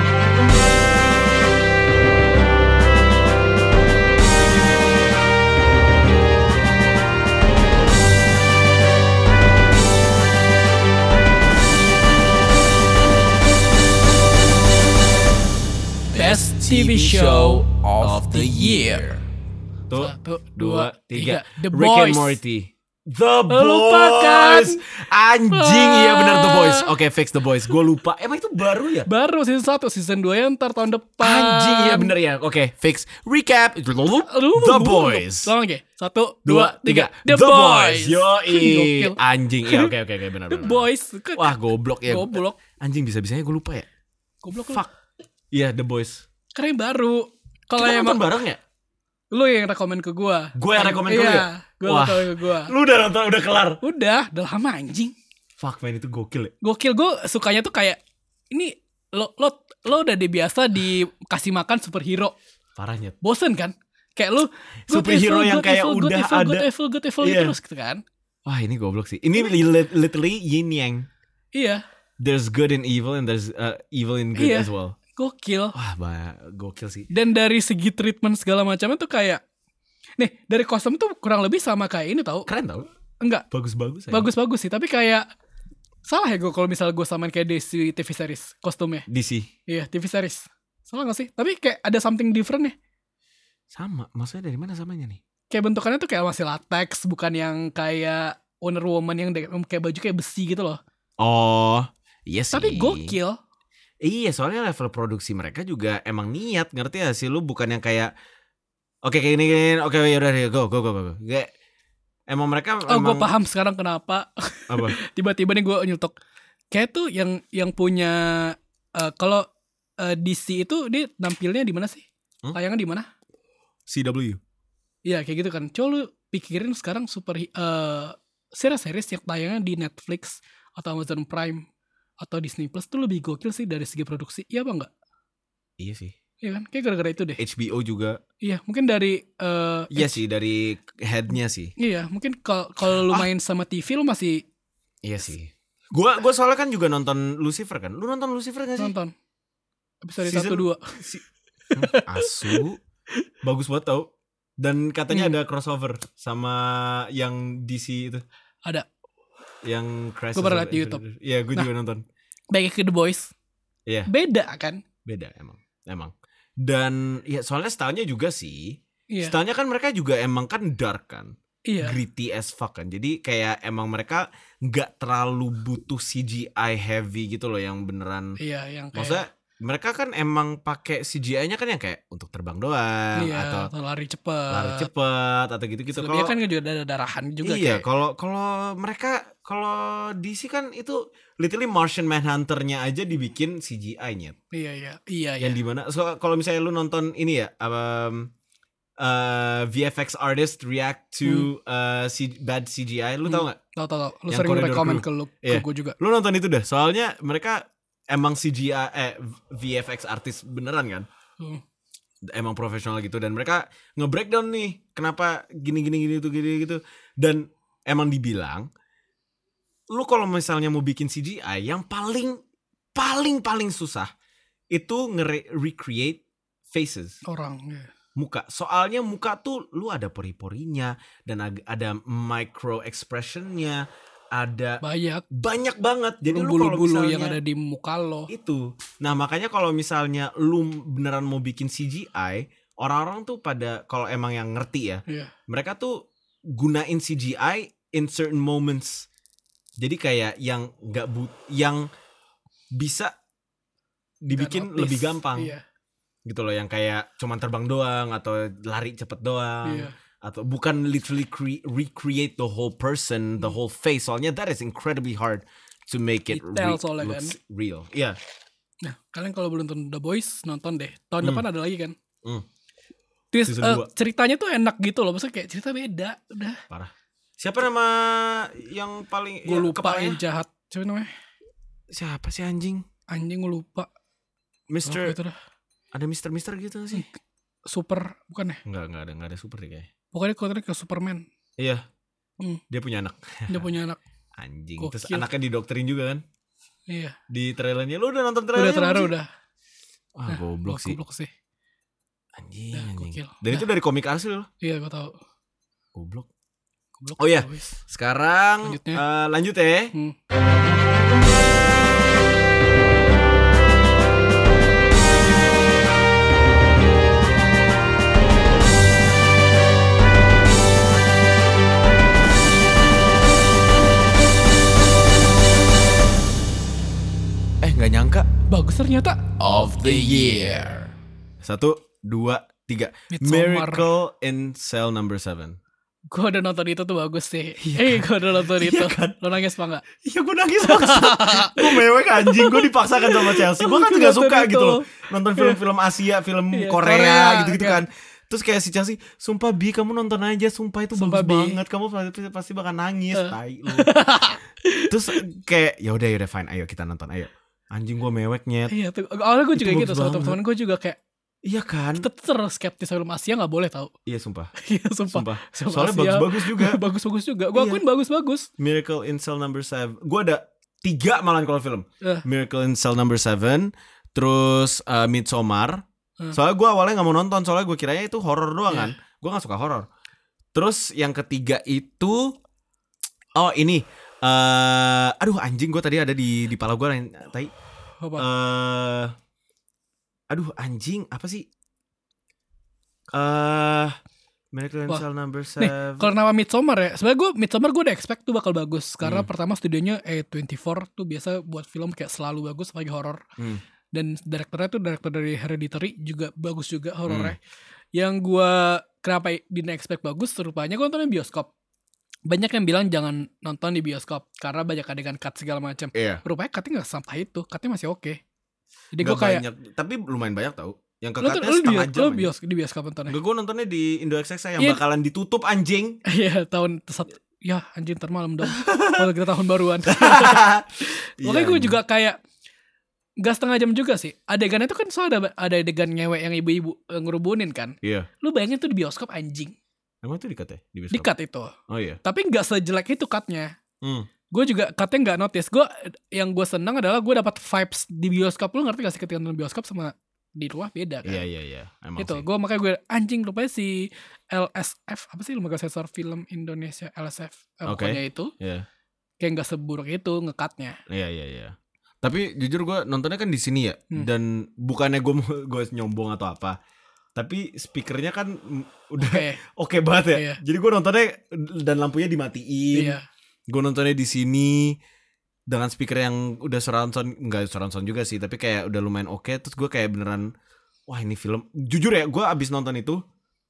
Speaker 1: Best TV show of the year.
Speaker 3: 1, 2, 3.
Speaker 2: The
Speaker 3: Rick and
Speaker 2: Boys.
Speaker 3: Morty. The
Speaker 2: Lupakan.
Speaker 3: Boys. Anjing, iya benar The Boys. Oke, fix The Boys. Gue lupa. Emang itu baru ya?
Speaker 2: Baru season 1, season 2 ya ntar tahun depan.
Speaker 3: Anjing, iya bener ya. Oke, fix. Recap. The Boys.
Speaker 2: Tolong oke. 1, 2, 3.
Speaker 3: The Boys. Yoi.
Speaker 2: Gokil.
Speaker 3: Anjing. Iya, oke benar.
Speaker 2: The Boys.
Speaker 3: Wah, goblok ya.
Speaker 2: Goblok.
Speaker 3: Anjing, bisa-bisanya gue lupa ya.
Speaker 2: Goblok.
Speaker 3: Fuck. Iya, The Boys.
Speaker 2: Karena yang baru. Kalau
Speaker 3: Kita
Speaker 2: yang
Speaker 3: nonton bareng ya?
Speaker 2: lu yang rekomen ke gua.
Speaker 3: Gue yang rekomen ke lu ya?
Speaker 2: Gue
Speaker 3: Wah,
Speaker 2: rekomen ke gua.
Speaker 3: lu udah nonton, udah kelar?
Speaker 2: Udah lama anjing.
Speaker 3: Fuck man, itu gokil ya.
Speaker 2: Gokil, gue sukanya tuh kayak ini lo udah biasa dikasih makan superhero.
Speaker 3: Parahnya.
Speaker 2: Bosen kan? Kayak lu
Speaker 3: Superhero yang kayak udah ada.
Speaker 2: Evil
Speaker 3: Iya.
Speaker 2: terus gitu kan.
Speaker 3: Wah, ini goblok sih. Ini literally yin yang.
Speaker 2: Iya,
Speaker 3: There's good in evil and there's evil in good
Speaker 2: Iya.
Speaker 3: as well.
Speaker 2: gokil.
Speaker 3: Wah, gokil sih.
Speaker 2: Dan dari segi treatment segala macamnya tuh kayak nih, dari kostum tuh kurang lebih sama kayak ini tau.
Speaker 3: Keren tau?
Speaker 2: Enggak,
Speaker 3: Bagus-bagus aja.
Speaker 2: bagus-bagus sih, tapi kayak salah ya gue kalau misalnya gue samain kayak DC TV series kostumnya.
Speaker 3: DC.
Speaker 2: Iya, TV series. Salah gak sih? Tapi kayak ada something different nih.
Speaker 3: Sama, maksudnya dari mana samanya nih?
Speaker 2: Kayak bentukannya tuh kayak masih latex, bukan yang kayak Wonder Woman yang kayak baju kayak besi gitu loh.
Speaker 3: Oh, iya sih.
Speaker 2: Tapi gokil.
Speaker 3: Iya, soalnya level produksi mereka juga emang niat, ngerti gak sih? Lu bukan yang kayak oke kayak gini, oke yaudah go. Kayak emang mereka
Speaker 2: Oh, gue paham sekarang kenapa.
Speaker 3: Apa?
Speaker 2: Tiba-tiba nih gue nyeletuk. Kayak tuh yang punya kalau DC itu dia nampilnya di mana sih? Tayangan di mana?
Speaker 3: CW.
Speaker 2: Iya kayak gitu kan. Coba lu pikirin sekarang series-series yang tayangnya di Netflix atau Amazon Prime atau Disney Plus tuh lebih gokil sih dari segi produksi. Iya apa enggak?
Speaker 3: Iya sih.
Speaker 2: Iya kan? Kayak gara-gara itu deh.
Speaker 3: HBO juga.
Speaker 2: Iya, mungkin dari
Speaker 3: Iya sih, dari headnya sih.
Speaker 2: iya, mungkin kalau lu main sama TV lu masih
Speaker 3: Iya sih. Gua soalnya kan juga nonton Lucifer kan. Lu nonton Lucifer gak sih?
Speaker 2: nonton episode
Speaker 3: Season-
Speaker 2: 1-2.
Speaker 3: Asu. Bagus banget tau. Dan katanya
Speaker 2: Hmm.
Speaker 3: ada crossover sama yang DC itu.
Speaker 2: Ada.
Speaker 3: Yang Crisis.
Speaker 2: Gua pernah
Speaker 3: of
Speaker 2: liat di YouTube.
Speaker 3: Iya, gue juga nonton.
Speaker 2: Baik ke The Boys.
Speaker 3: Iya.
Speaker 2: Beda kan?
Speaker 3: Beda emang. Dan ya soalnya stylenya juga sih.
Speaker 2: Iya.
Speaker 3: Stylenya kan mereka juga emang kan dark kan.
Speaker 2: Iya.
Speaker 3: Gritty as fuck kan. Jadi kayak emang mereka gak terlalu butuh CGI heavy gitu loh yang beneran.
Speaker 2: Iya, yang kayak
Speaker 3: Maksudnya mereka kan emang pakai CGI-nya kan yang kayak untuk terbang doang
Speaker 2: iya,
Speaker 3: atau
Speaker 2: lari cepet.
Speaker 3: lari cepet atau gitu-gitu.
Speaker 2: Selebihnya kan juga ada darahan juga
Speaker 3: iya,
Speaker 2: kayak.
Speaker 3: kalau DC kan itu literally Martian Manhunter-nya aja dibikin CGI-nya.
Speaker 2: Iya.
Speaker 3: Yang dimana kalau misalnya lu nonton ini ya VFX artist react to bad CGI, lu tau gak?
Speaker 2: Tahu. Lu
Speaker 3: Yang
Speaker 2: sering
Speaker 3: Corridor
Speaker 2: rekomen
Speaker 3: Crew.
Speaker 2: ke
Speaker 3: Iya.
Speaker 2: gue juga.
Speaker 3: Lu nonton itu dah. Soalnya mereka emang CGI VFX artis beneran kan? Emang profesional gitu dan mereka nge-breakdown nih kenapa gini gitu. Dan emang dibilang lu kalau misalnya mau bikin CGI yang paling susah itu recreate faces.
Speaker 2: Orang. Iya.
Speaker 3: Muka. Soalnya muka tuh lu ada pori-porinya dan ada micro expressionnya, ada banyak banget. Jadi lu kalau
Speaker 2: bulu-bulu
Speaker 3: misalnya
Speaker 2: yang ada di muka lo
Speaker 3: itu. Nah, makanya kalau misalnya lu beneran mau bikin CGI, orang-orang tuh pada kalau emang yang ngerti ya.
Speaker 2: Iya.
Speaker 3: Mereka tuh gunain CGI in certain moments. Jadi kayak yang yang bisa dibikin lebih gampang.
Speaker 2: Iya.
Speaker 3: Gitu loh, yang kayak cuman terbang doang atau lari cepet doang.
Speaker 2: Iya.
Speaker 3: Atau bukan literally recreate the whole person, the whole face. Soalnya that is incredibly hard to make it
Speaker 2: Detail soalnya
Speaker 3: looks
Speaker 2: kan.
Speaker 3: real. Iya.
Speaker 2: Nah, kalian kalau belum nonton The Boys, nonton deh. Tahun depan ada lagi kan.
Speaker 3: Season 2.
Speaker 2: Ceritanya tuh enak gitu loh. Maksudnya kayak cerita beda. Udah.
Speaker 3: Parah. Siapa nama yang paling
Speaker 2: Gue lupa
Speaker 3: kepalanya?
Speaker 2: yang jahat. Siapa namanya?
Speaker 3: Siapa sih anjing?
Speaker 2: Anjing gue lupa.
Speaker 3: Mister.
Speaker 2: Itu dah.
Speaker 3: Ada Mister gitu sih?
Speaker 2: Super. Bukan ya?
Speaker 3: Enggak ada super deh kayaknya.
Speaker 2: Pokoknya kelihatan kayak Superman.
Speaker 3: Iya. Dia punya anak.
Speaker 2: Dia punya anak.
Speaker 3: Anjing.
Speaker 2: Gokil.
Speaker 3: Terus anaknya didoktrin juga kan?
Speaker 2: Iya.
Speaker 3: Di trailernya. Lu udah nonton trailernya?
Speaker 2: Udah.
Speaker 3: Wah, goblok sih.
Speaker 2: Goblok sih.
Speaker 3: Anjing.
Speaker 2: Gokil.
Speaker 3: Dan itu dari komik asli loh.
Speaker 2: Iya, gue tahu.
Speaker 3: Goblok. Oh iya. Sekarang lanjut ya. Gak nyangka.
Speaker 2: Bagus ternyata.
Speaker 1: Of the year.
Speaker 3: 1, 2, 3.
Speaker 2: Midsommar.
Speaker 3: Miracle in Cell Number 7.
Speaker 2: Gue udah nonton itu tuh bagus sih.
Speaker 3: Iya
Speaker 2: Gue udah nonton itu.
Speaker 3: kan?
Speaker 2: Lo nangis apa enggak?
Speaker 3: Iya gue nangis banget. Gue mewek anjing. Gue dipaksakan sama Chelsea. Gue kan
Speaker 2: Gue
Speaker 3: gak
Speaker 2: nonton
Speaker 3: suka
Speaker 2: itu.
Speaker 3: gitu loh. Nonton film-film Asia, film
Speaker 2: Iya,
Speaker 3: Korea
Speaker 2: Korea,
Speaker 3: gitu-gitu
Speaker 2: iya.
Speaker 3: kan. Terus kayak si Chelsea, sumpah Bi kamu nonton aja. Sumpah itu
Speaker 2: Sumpah,
Speaker 3: bagus
Speaker 2: Bi.
Speaker 3: banget. Kamu pasti bakal nangis. Tai lu. Terus kayak yaudah fine. Ayo kita nonton ayo. Anjing gue meweknya.
Speaker 2: Iya tuh. Awalnya gue
Speaker 3: Itu
Speaker 2: juga
Speaker 3: bagus
Speaker 2: gitu. Sama
Speaker 3: banget.
Speaker 2: teman-teman gue juga kayak
Speaker 3: Iya kan?
Speaker 2: kita terus skeptis film Asia gak boleh tau.
Speaker 3: Iya sumpah.
Speaker 2: Iya sumpah. Film
Speaker 3: Soalnya
Speaker 2: Asia
Speaker 3: bagus-bagus juga.
Speaker 2: Bagus-bagus juga. Gue
Speaker 3: Iya.
Speaker 2: akuin bagus-bagus.
Speaker 3: Miracle in Cell Number 7. Gue ada 3 malahan kalau film. Miracle in Cell Number 7. Terus Midsommar. Soalnya gue awalnya gak mau nonton. Soalnya gue kiranya itu horor doang kan. Gue gak suka horor. Terus yang ketiga itu, oh ini, aduh anjing gue tadi ada di pala gue tadi.
Speaker 2: Apa?
Speaker 3: Aduh anjing apa sih? Miracle in
Speaker 2: Wah.
Speaker 3: Cell Number
Speaker 2: Nih,
Speaker 3: 7.
Speaker 2: kalau nama Midsommar ya, sebenarnya Midsommar gue udah expect tuh bakal bagus. Karena pertama studionya A24 tuh biasa buat film kayak selalu bagus apalagi horor. Dan direkturnya tuh direktur dari Hereditary juga bagus juga horornya. Yang gue kenapa didn't expect bagus, rupanya gue nontonnya bioskop. Banyak yang bilang jangan nonton di bioskop karena banyak adegan cut segala macam.
Speaker 3: Iya.
Speaker 2: Rupanya cutnya gak sampai itu, cutnya masih oke. Jadi gue
Speaker 3: Gak
Speaker 2: kayak
Speaker 3: banyak, tapi lumayan banyak tau. Yang
Speaker 2: lu
Speaker 3: kekatnya setengah jam.
Speaker 2: di bioskop nontonnya.
Speaker 3: Enggak, gue nontonnya di Indo XXI yang
Speaker 2: Iya.
Speaker 3: bakalan ditutup anjing.
Speaker 2: Iya tahun ya anjing ntar malam dong. Kalau kita tahun baruan. Makanya gue juga kayak gak setengah jam juga sih. Adegannya itu kan soalnya ada adegan ngewek yang ibu-ibu ngerubunin kan.
Speaker 3: Iya.
Speaker 2: Lu bayangin tuh di bioskop anjing.
Speaker 3: Emang itu di-cut ya? Di bioskop?
Speaker 2: Di cut itu.
Speaker 3: Oh iya.
Speaker 2: Tapi gak sejelek itu cutnya.
Speaker 3: Hmm.
Speaker 2: Gue juga cutnya gak notice. Yang gue senang adalah gue dapat vibes di bioskop. Lu ngerti gak sih ketika nonton bioskop sama di rumah beda kan?
Speaker 3: Iya. Emang
Speaker 2: Itu
Speaker 3: sih.
Speaker 2: makanya gue anjing rupanya si LSF apa sih lembaga sensor film Indonesia LSF
Speaker 3: Oke.
Speaker 2: pokoknya itu
Speaker 3: Iya.
Speaker 2: kayak nggak seburuk itu ngekatnya.
Speaker 3: Iya. Tapi jujur gue nontonnya kan di sini ya. Dan bukannya gue nyombong atau apa. Tapi speakernya kan udah oke banget ya.
Speaker 2: Iya.
Speaker 3: Jadi gue nontonnya dan lampunya dimatiin.
Speaker 2: Iya.
Speaker 3: Gue nontonnya di sini dengan speaker yang udah surround sound, enggak surround sound juga sih, tapi kayak udah lumayan oke. Terus gue kayak beneran, wah ini film. Jujur ya, gue abis nonton itu,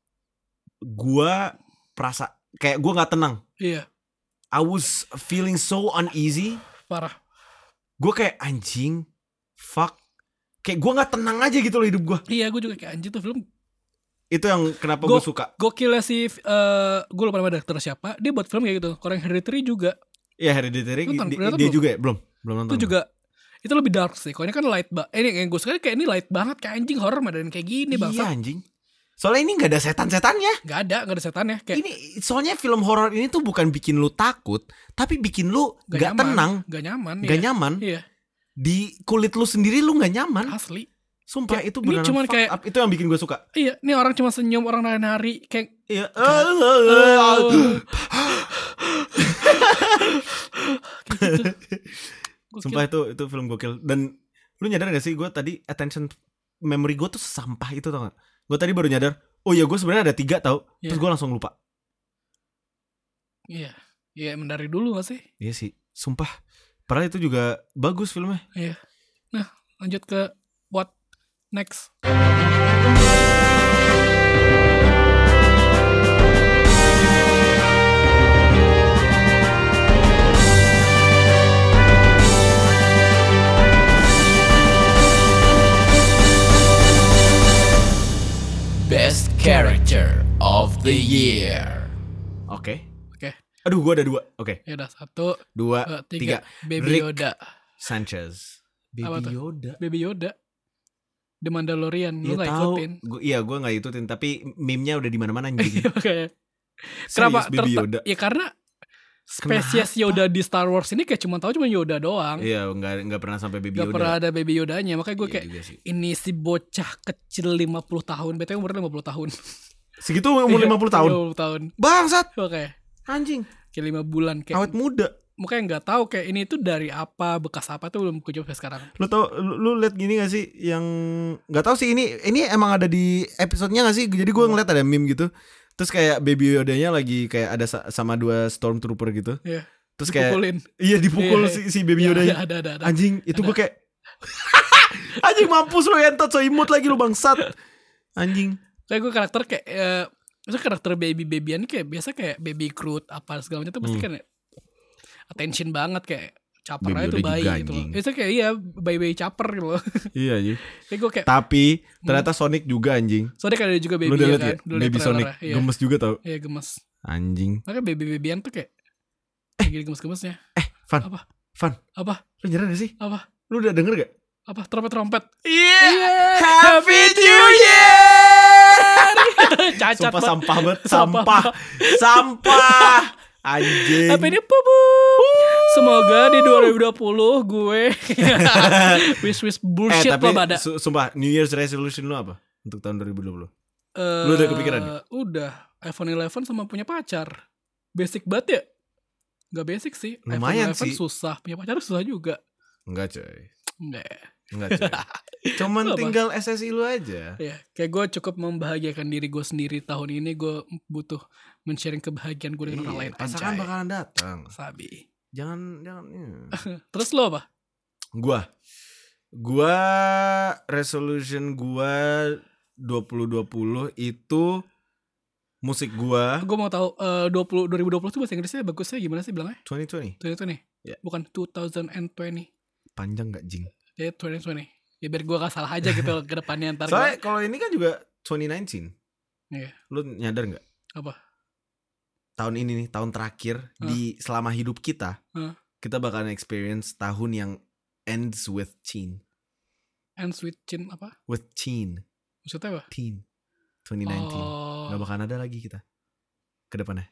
Speaker 3: gue perasa kayak gue nggak tenang.
Speaker 2: Iya.
Speaker 3: I was feeling so uneasy.
Speaker 2: Parah.
Speaker 3: Gue kayak anjing, fuck. Kayak gue nggak tenang aja gitu loh hidup gue.
Speaker 2: Iya, gue juga kayak anjing tuh film.
Speaker 3: Itu yang kenapa gue suka.
Speaker 2: Gokilnya si gue lupa nama direktur siapa. Dia buat film kayak gitu. Korean Hereditary juga.
Speaker 3: Iya, Hereditary
Speaker 2: Nonton,
Speaker 3: dia
Speaker 2: belum?
Speaker 3: juga ya? Belum nonton.
Speaker 2: Itu juga itu lebih dark sih. Kalau ini kan light banget. Ini yang gue suka kayak ini light banget kayak anjing horror dan kayak gini bang.
Speaker 3: Iya anjing. Soalnya ini gak ada setan-setannya.
Speaker 2: Gak ada setannya. Kayak
Speaker 3: Ini soalnya film horor ini tuh bukan bikin lu takut, tapi bikin lu gak tenang,
Speaker 2: gak nyaman.
Speaker 3: gak nyaman.
Speaker 2: Iya.
Speaker 3: Di kulit lu sendiri lu gak nyaman.
Speaker 2: Asli.
Speaker 3: Sumpah
Speaker 2: Kayak,
Speaker 3: itu
Speaker 2: ini
Speaker 3: beneran
Speaker 2: cuman
Speaker 3: fucked
Speaker 2: kayak-
Speaker 3: up. Itu yang bikin gue suka.
Speaker 2: Iya, ini orang cuma senyum, orang nari-nari kayak
Speaker 3: Iya.
Speaker 2: Gokil.
Speaker 3: Sumpah itu film gokil. Dan lu nyadar gak sih gue tadi attention memory gue tuh sampah itu tau gak? Gue tadi baru nyadar, oh iya gue sebenarnya ada 3 tau. Terus gue langsung lupa.
Speaker 2: Iya. Iya, emang dari dulu gak sih?
Speaker 3: Iya sih, sumpah. Padahal itu juga bagus filmnya.
Speaker 2: Iya. Nah, lanjut ke what next.
Speaker 1: Best Character of the Year.
Speaker 3: Oke.
Speaker 2: Oke.
Speaker 3: Aduh gue ada 2. Oke.
Speaker 2: Ya udah 1,
Speaker 3: 2,
Speaker 2: 3.
Speaker 3: 3.
Speaker 2: Baby
Speaker 3: Rick
Speaker 2: Yoda.
Speaker 3: Sanchez.
Speaker 2: Apa tuh?
Speaker 3: Baby Yoda.
Speaker 2: Baby Yoda. The Mandalorian. Lu gak
Speaker 3: tahu.
Speaker 2: ikutin.
Speaker 3: Gue gak ikutin. Tapi meme-nya udah di mana-mana anjing.
Speaker 2: Oke.
Speaker 3: Serius,
Speaker 2: Kenapa?
Speaker 3: Baby Yoda.
Speaker 2: Ya karena spesies Yoda di Star Wars ini kayak cuma Yoda doang.
Speaker 3: Iya, nggak pernah sampai Baby
Speaker 2: Gak
Speaker 3: Yoda.
Speaker 2: pernah ada Baby Yodanya. Makanya gue
Speaker 3: Iya
Speaker 2: kayak
Speaker 3: juga sih.
Speaker 2: ini si bocah kecil 50 tahun. BTW umurnya 50 tahun.
Speaker 3: Segitu umur 50 tahun.
Speaker 2: 50 tahun.
Speaker 3: Bangsat.
Speaker 2: Oke.
Speaker 3: Anjing.
Speaker 2: Kayak 5 bulan kayak.
Speaker 3: Awet muda.
Speaker 2: Makanya gak tahu kayak ini tuh dari apa, bekas apa tuh belum kejawab sampai sekarang.
Speaker 3: Lu tau, lu liat gini gak sih yang nggak tahu sih ini emang ada di episodenya gak sih? Jadi gue ngeliat ada meme gitu. Terus kayak Baby Yodanya lagi kayak ada sama 2 stormtrooper gitu.
Speaker 2: Iya.
Speaker 3: Terus kayak
Speaker 2: Dipukulin.
Speaker 3: iya dipukul
Speaker 2: Iya.
Speaker 3: si Baby Yodanya.
Speaker 2: Ada.
Speaker 3: Anjing, itu gue kayak anjing mampus lu entot so imut lagi lu bangsat. Anjing.
Speaker 2: Kayak gue karakter kayak Maksudnya karakter babyan kayak biasa kayak Baby Groot apa segala macam itu pasti kan attention banget kayak caper aja tuh bayi gitu loh. Itu kayak iya bayi caper gitu loh.
Speaker 3: Iya anjing.
Speaker 2: Kayak gue kayak
Speaker 3: Tapi ternyata Sonic juga anjing.
Speaker 2: Sonic ada juga baby
Speaker 3: Lu udah
Speaker 2: ya
Speaker 3: liat
Speaker 2: kan.
Speaker 3: ya? Baby Sonic gemes juga tau.
Speaker 2: Iya gemes.
Speaker 3: Anjing.
Speaker 2: Makanya babyan tuh kayak gini gemes-gemesnya.
Speaker 3: Van.
Speaker 2: Apa?
Speaker 3: Van.
Speaker 2: Apa?
Speaker 3: Lu nyerah gak sih?
Speaker 2: Apa?
Speaker 3: Lu udah denger gak?
Speaker 2: Apa? Trompet.
Speaker 3: Yeah. Happy New Year.
Speaker 2: Cacat
Speaker 3: Sumpah
Speaker 2: banget.
Speaker 3: sampah banget. Sampah. Anjing.
Speaker 2: Apa ini pupu? Semoga di 2020 gue wish bullshit
Speaker 3: tapi
Speaker 2: lo pada.
Speaker 3: Sumpah New Year's resolution lu apa? Untuk tahun 2020? Lu udah kepikiran ya?
Speaker 2: Udah. iPhone 11 sama punya pacar. Basic banget ya? Gak basic sih.
Speaker 3: Lumayan
Speaker 2: iPhone 11
Speaker 3: sih.
Speaker 2: susah. Punya pacar susah juga.
Speaker 3: Enggak coy.
Speaker 2: Enggak.
Speaker 3: Cuman
Speaker 2: Lu apa?
Speaker 3: tinggal SSI lu aja.
Speaker 2: Ya, kayak gue cukup membahagiakan diri gue sendiri tahun ini. Gue butuh men-sharing kebahagiaan gue dengan orang lain.
Speaker 3: Pasangan
Speaker 2: Anjay.
Speaker 3: bakalan datang.
Speaker 2: Sabi.
Speaker 3: Jangan
Speaker 2: Terus lo apa?
Speaker 3: Gua resolution gua 2020 itu musik gua
Speaker 2: Gue mau tahu 2020 tuh bahasa Inggrisnya bagusnya gimana sih bilangnya?
Speaker 3: 2020.
Speaker 2: 2020.
Speaker 3: Ya.
Speaker 2: Bukan 2020.
Speaker 3: Panjang gak jing?
Speaker 2: Ya 2020. Ya biar gue gak salah aja gitu ke depannya ntar.
Speaker 3: Soalnya kalau ini kan juga 2019.
Speaker 2: Iya.
Speaker 3: Lu nyadar gak?
Speaker 2: Apa?
Speaker 3: Tahun ini nih, tahun terakhir di selama hidup kita, kita bakalan experience tahun yang ends with teen.
Speaker 2: Ends with chin apa?
Speaker 3: With teen.
Speaker 2: Maksudnya apa?
Speaker 3: Teen. 2019.
Speaker 2: Oh.
Speaker 3: Gak bakalan ada lagi kita ke depannya.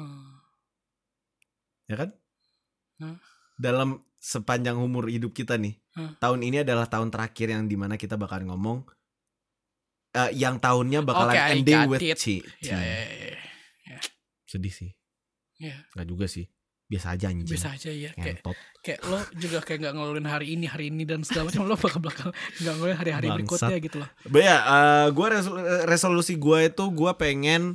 Speaker 3: Ya kan? Dalam sepanjang umur hidup kita nih, tahun ini adalah tahun terakhir yang dimana kita bakalan ngomong yang tahunnya bakalan ending with teen.
Speaker 2: Ya.
Speaker 3: Sedih sih.
Speaker 2: Ya.
Speaker 3: Gak juga sih. Biasa aja anjing.
Speaker 2: Biasa aja ya. Kayak lo juga kayak gak ngeluarin hari ini dan segala macam. Lo bakal gak ngeluarin hari-hari berikutnya gitu loh.
Speaker 3: But ya, gue resolusi gue itu gue pengen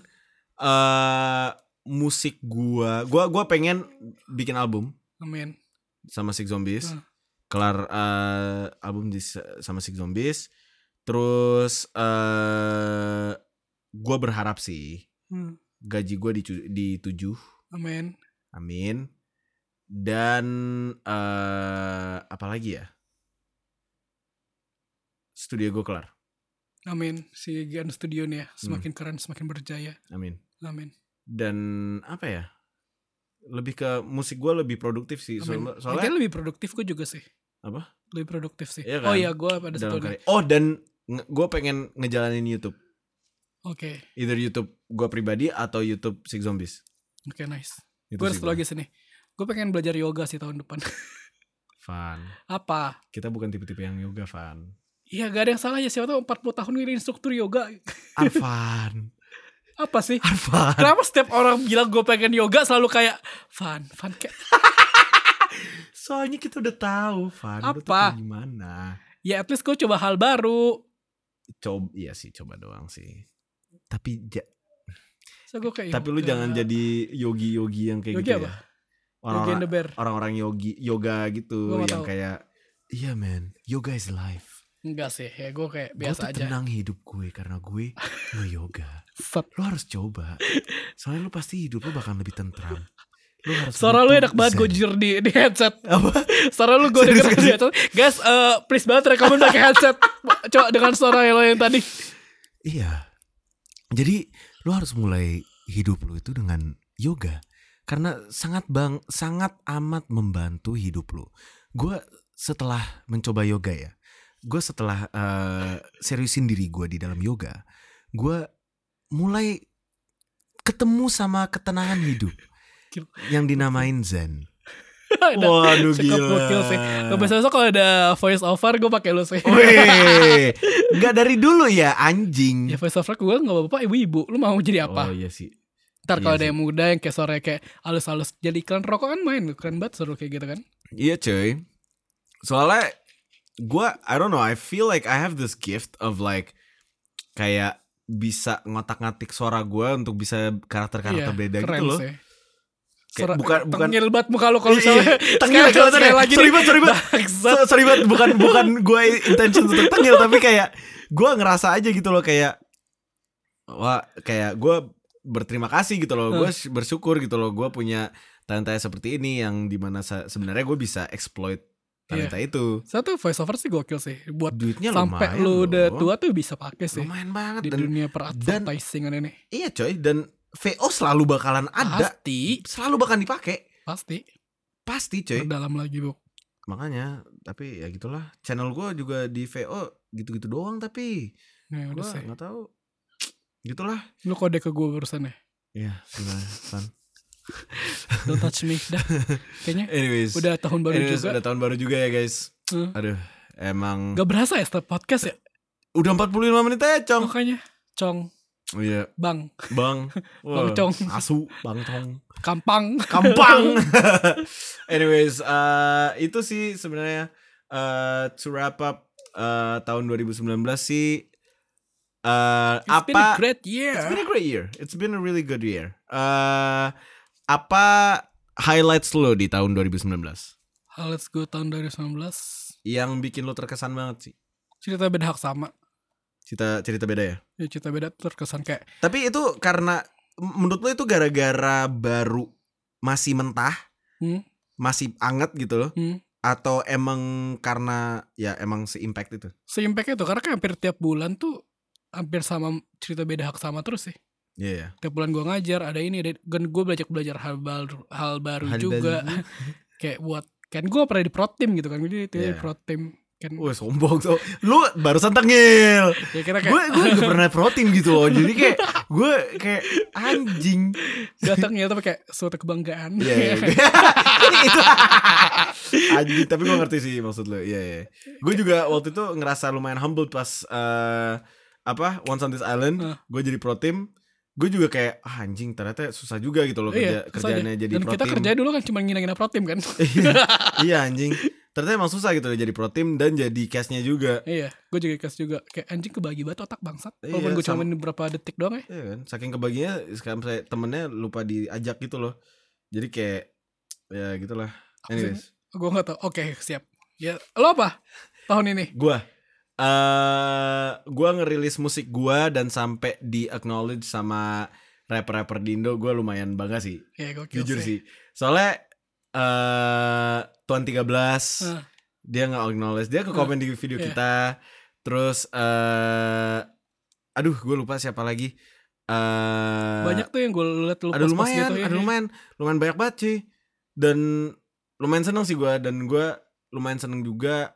Speaker 3: musik gue pengen bikin album.
Speaker 2: Amin.
Speaker 3: Sama Sick Zombies. Kelar album sama Sick Zombies. Terus gue berharap sih gaji gue di 7. Amin. Dan apa lagi ya? Studio gue kelar.
Speaker 2: Amin. Si Gian Studio nih ya semakin keren, semakin berjaya.
Speaker 3: Amin. Dan apa ya? Lebih ke musik gue lebih produktif sih. Soalnya
Speaker 2: lebih produktif gue juga sih.
Speaker 3: Apa?
Speaker 2: Lebih produktif sih.
Speaker 3: Iya kan?
Speaker 2: Oh iya, gue pada satu.
Speaker 3: Dan gue pengen ngejalanin YouTube.
Speaker 2: Oke.
Speaker 3: Either YouTube gue pribadi atau YouTube Sick Zombies.
Speaker 2: Oke, nice.
Speaker 3: Gue
Speaker 2: harus lagi sini. Gue pengen belajar yoga sih tahun depan.
Speaker 3: Van.
Speaker 2: Apa?
Speaker 3: Kita bukan tipe-tipe yang yoga, Van.
Speaker 2: Iya, gak ada yang salah ya. Siapa tau 40 tahun ini instruktur yoga.
Speaker 3: Arfan.
Speaker 2: Apa sih?
Speaker 3: Arfan.
Speaker 2: Kenapa setiap orang bilang gue pengen yoga selalu kayak Van kayak
Speaker 3: soalnya kita udah tahu, Van.
Speaker 2: Apa?
Speaker 3: Gimana?
Speaker 2: Ya at least gue coba hal baru.
Speaker 3: Iya sih, coba doang sih. Tapi
Speaker 2: tapi
Speaker 3: lu jangan jadi yogi yang kayak
Speaker 2: yogi
Speaker 3: gitu
Speaker 2: apa?
Speaker 3: Ya. Orang-orang yoga gitu
Speaker 2: gua
Speaker 3: yang kayak iya man, yoga is life.
Speaker 2: Enggak sih, ya gue kayak biasa aja.
Speaker 3: Gue tenang hidup gue karena gue nge-yoga. Lu harus coba. Soalnya lu pasti hidup lu bakal lebih tentram. Lu harus.
Speaker 2: Suara lu enak banget gue jujur di headset.
Speaker 3: Apa?
Speaker 2: Suara lu gue denger di headset. Guys, please banget rekomen pakai headset. Coba dengan suara lo yang tadi.
Speaker 3: Iya. Jadi lu harus mulai hidup lu itu dengan yoga karena sangat amat membantu hidup lu. Gue setelah mencoba yoga ya, gue setelah seriusin diri gue di dalam yoga, gue mulai ketemu sama ketenangan hidup yang dinamain Zen. Waduh gila.
Speaker 2: Besok kalau ada voice over gue pakai lu sih.
Speaker 3: Wih, nggak dari dulu ya anjing.
Speaker 2: Ya voice over gue nggak bapak ibu-ibu. Lu mau jadi apa?
Speaker 3: Oh iya sih.
Speaker 2: Ntar kalau ada yang muda yang kayak sore kayak halus-halus jadi iklan rokok kan main keren banget suruh kayak gitu kan.
Speaker 3: Iya cuy. Soalnya gue I don't know, I feel like I have this gift of like kayak bisa ngotak-ngatik suara gue untuk bisa karakter-karakter beda gitu loh. Sih. Bukan
Speaker 2: tengil banget muka lu kalau misalnya
Speaker 3: tengil lagi sorry banget bukan gue intention untuk tengil tapi kayak gue ngerasa aja gitu loh kayak wah kayak gue berterima kasih gitu loh. Gue bersyukur gitu loh. Gue punya talenta seperti ini yang dimana sebenarnya gue bisa exploit talenta itu.
Speaker 2: Satu voice over sih gokil sih. Buat
Speaker 3: duitnya
Speaker 2: sampai
Speaker 3: lumayan
Speaker 2: lu udah
Speaker 3: loh.
Speaker 2: tua tuh bisa pakai sih.
Speaker 3: Lumayan banget
Speaker 2: di dunia per-advertisingan ini.
Speaker 3: Iya coy, dan VO selalu bakalan ada. Selalu bakalan dipakai. Pasti coy.
Speaker 2: Dalam lagi bu.
Speaker 3: Makanya, tapi ya gitulah. Channel gue juga di VO gitu-gitu doang tapi
Speaker 2: gue
Speaker 3: nggak tahu. Gitulah.
Speaker 2: Lu kode ke gue barusan ya?
Speaker 3: Iya, gimana, Van?
Speaker 2: Don't touch me dah. Kayaknya
Speaker 3: anyways,
Speaker 2: udah tahun baru juga.
Speaker 3: Udah tahun baru juga ya guys. Aduh, emang
Speaker 2: gak berasa ya setiap podcast ya?
Speaker 3: Udah 45 menit aja, Cong.
Speaker 2: Makanya, Cong.
Speaker 3: Oh iya.
Speaker 2: Bang.
Speaker 3: Bang
Speaker 2: Cong.
Speaker 3: Asu, Bang Cong.
Speaker 2: Kampang.
Speaker 3: Anyways, itu sih sebenarnya to wrap up tahun 2019 sih.
Speaker 2: It's been a great year.
Speaker 3: It's been a great year. It's been a really good year. Apa highlights lo di tahun 2019?
Speaker 2: Highlights gue tahun 2019
Speaker 3: yang bikin lo terkesan banget sih?
Speaker 2: Cerita Beda Hak Sama.
Speaker 3: Cerita beda ya?
Speaker 2: Ya cerita beda terkesan kayak.
Speaker 3: Tapi itu karena menurut lo itu gara-gara baru masih mentah, masih anget gitu loh, atau emang karena ya emang se-impact itu?
Speaker 2: Se-impact itu karena kayak hampir tiap bulan tuh hampir sama Cerita Beda Hak Sama terus sih.
Speaker 3: Iya. Yeah.
Speaker 2: Tiap bulan gue ngajar ada ini, dan gue belajar hal baru juga. Kayak buat kan gue pernah di Protim gitu kan, jadi itu di Protim.
Speaker 3: Wah sombong tuh. Lu barusan tengil.
Speaker 2: Ya, kayak
Speaker 3: gue juga pernah protein gitu loh. Jadi kayak gue kayak anjing.
Speaker 2: Datangnya tapi kayak suatu kebanggaan.
Speaker 3: Iya. Itu anjing, tapi gue ngerti sih maksud lo. Iya. Gue juga waktu itu ngerasa lumayan humble pas Once on This Island. Gue jadi pro team. Gue juga kayak anjing ternyata susah juga gitu loh kerjaannya jadi pro team. Dan
Speaker 2: kita kerja dulu kan cuma ngina-ngina pro team kan.
Speaker 3: Iya anjing. Ternyata emang susah gitu jadi pro team dan jadi cast-nya juga.
Speaker 2: Iya, gue juga cast juga. Kayak anjing kebagi banget otak bangsat. Walaupun gue cuma beberapa detik doang ya.
Speaker 3: Iya kan, saking kebaginya sekarang saya temennya lupa diajak gitu loh. Jadi kayak ya gitulah. Anyways,
Speaker 2: gue nggak tahu. Oke, siap. Ya, lo apa tahun ini?
Speaker 3: Gue ngerilis musik gue dan sampai di acknowledge sama rapper-rapper di Indo. Gue lumayan bangga sih.
Speaker 2: Ya,
Speaker 3: jujur sih. Soalnya Tuan 13 dia nge-acknowledge, dia ke komen di video kita. Terus aduh gue lupa siapa lagi.
Speaker 2: Banyak tuh yang gue liat
Speaker 3: ada lumayan gitu, lumayan banyak banget sih. Dan lumayan seneng sih gue. Dan gue lumayan seneng juga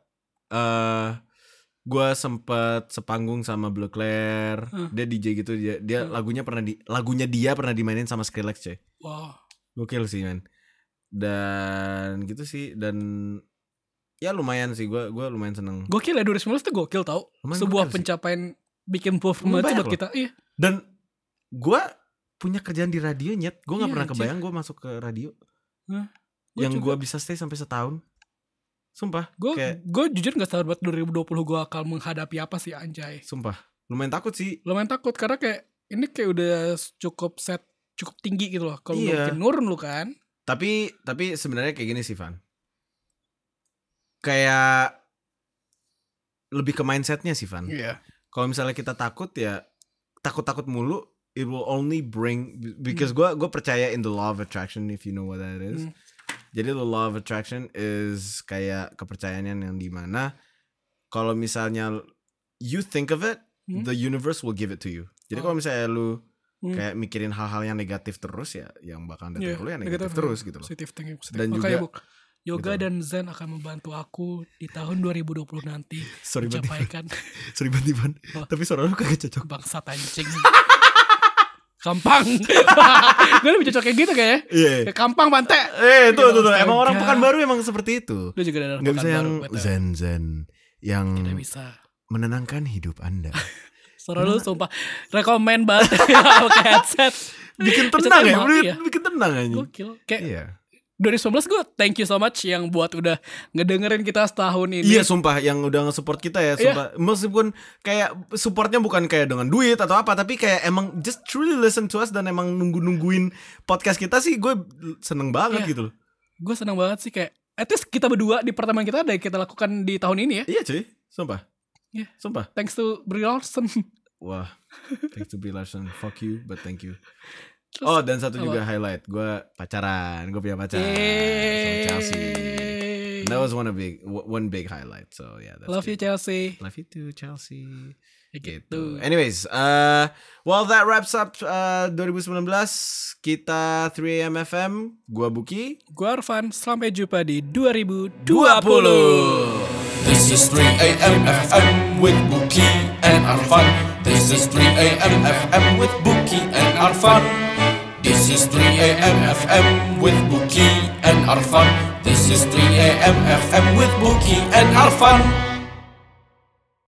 Speaker 3: gue sempet sepanggung sama Blue Claire. Dia DJ gitu. Dia lagunya pernah dimainin sama Skrillex coy.
Speaker 2: Wow,
Speaker 3: gokil sih man. Dan gitu sih. Dan ya lumayan sih, gue lumayan seneng.
Speaker 2: Gokil ya 2019 tuh gokil tau.
Speaker 3: Lumayan
Speaker 2: sebuah
Speaker 3: gokil
Speaker 2: pencapaian sih. Bikin performance buat kita. Iya.
Speaker 3: Dan gue punya kerjaan di radio nyet. Gue gak pernah kebayang gue masuk ke radio. Yang gue bisa stay sampai setahun. Sumpah.
Speaker 2: Gue jujur gak sadar buat 2020 gue akan menghadapi apa sih anjay.
Speaker 3: Sumpah lumayan takut sih.
Speaker 2: Lumayan takut karena kayak ini kayak udah cukup tinggi gitu loh. Kalau mungkin nurun lu kan.
Speaker 3: Tapi sebenarnya kayak gini sih Van. Kayak lebih ke mindsetnya sih Van.
Speaker 2: Iya.
Speaker 3: Kalau misalnya kita takut ya takut mulu, it will only bring, because gue percaya in the law of attraction, if you know what that is. Jadi the law of attraction is kayak kepercayaan yang dimana kalau misalnya you think of it, the universe will give it to you. Jadi kalau misalnya lu kayak mikirin hal-hal yang negatif terus ya yang bakal datang lu yang negatif terus gitu loh.
Speaker 2: Positive thinking.
Speaker 3: Dan
Speaker 2: makanya
Speaker 3: juga
Speaker 2: yoga gitu. Dan Zen akan membantu aku di tahun 2020 nanti mencapaikan.
Speaker 3: Sorry banget Ivan. Tapi suara lu kagak cocok.
Speaker 2: Bangsat anjing. Kampang. Gue lebih cocok kayak gitu kayaknya. Kayak Kampang Bante.
Speaker 3: Tuh. Emang orang Pekanbaru emang seperti itu.
Speaker 2: Lu juga ada
Speaker 3: Gak bisa yang zen yang
Speaker 2: tidak bisa
Speaker 3: menenangkan hidup Anda.
Speaker 2: Suara lu sumpah rekomen banget pakai headset.
Speaker 3: Bikin tenang ya. Bikin tenang aja.
Speaker 2: Gokil. Kayak 2019 gue thank you so much yang buat udah ngedengerin kita setahun ini.
Speaker 3: Iya sumpah yang udah nge-support kita ya sumpah. Meskipun kayak supportnya bukan kayak dengan duit atau apa, tapi kayak emang just truly listen to us dan emang nungguin podcast kita sih, gue seneng banget gitu loh.
Speaker 2: Gue seneng banget sih kayak at least kita berdua di pertemuan kita ada yang kita lakukan di tahun ini ya.
Speaker 3: Iya cuy, sumpah.
Speaker 2: Iya.
Speaker 3: Sumpah.
Speaker 2: Thanks to Brie Larson.
Speaker 3: wah, thanks to Brie Larson, fuck you, but thank you.
Speaker 2: Terus,
Speaker 3: Dan satu juga highlight, gue punya pacar sama Chelsea. That was one big highlight. So yeah, that's
Speaker 2: love you Chelsea.
Speaker 3: Love you too, Chelsea.
Speaker 2: Gitu.
Speaker 3: Anyways, well that wraps up 2019. Kita 3AM FM. Gua Buki.
Speaker 2: Gua Arfan. Sampai jumpa di 2020.
Speaker 1: This is 3AM FM with Buki and Arfan. This is 3AM FM with Buki and Arfan. This is 3AM FM with Buki and Arfan. This is 3AM FM with Buki and Arfan.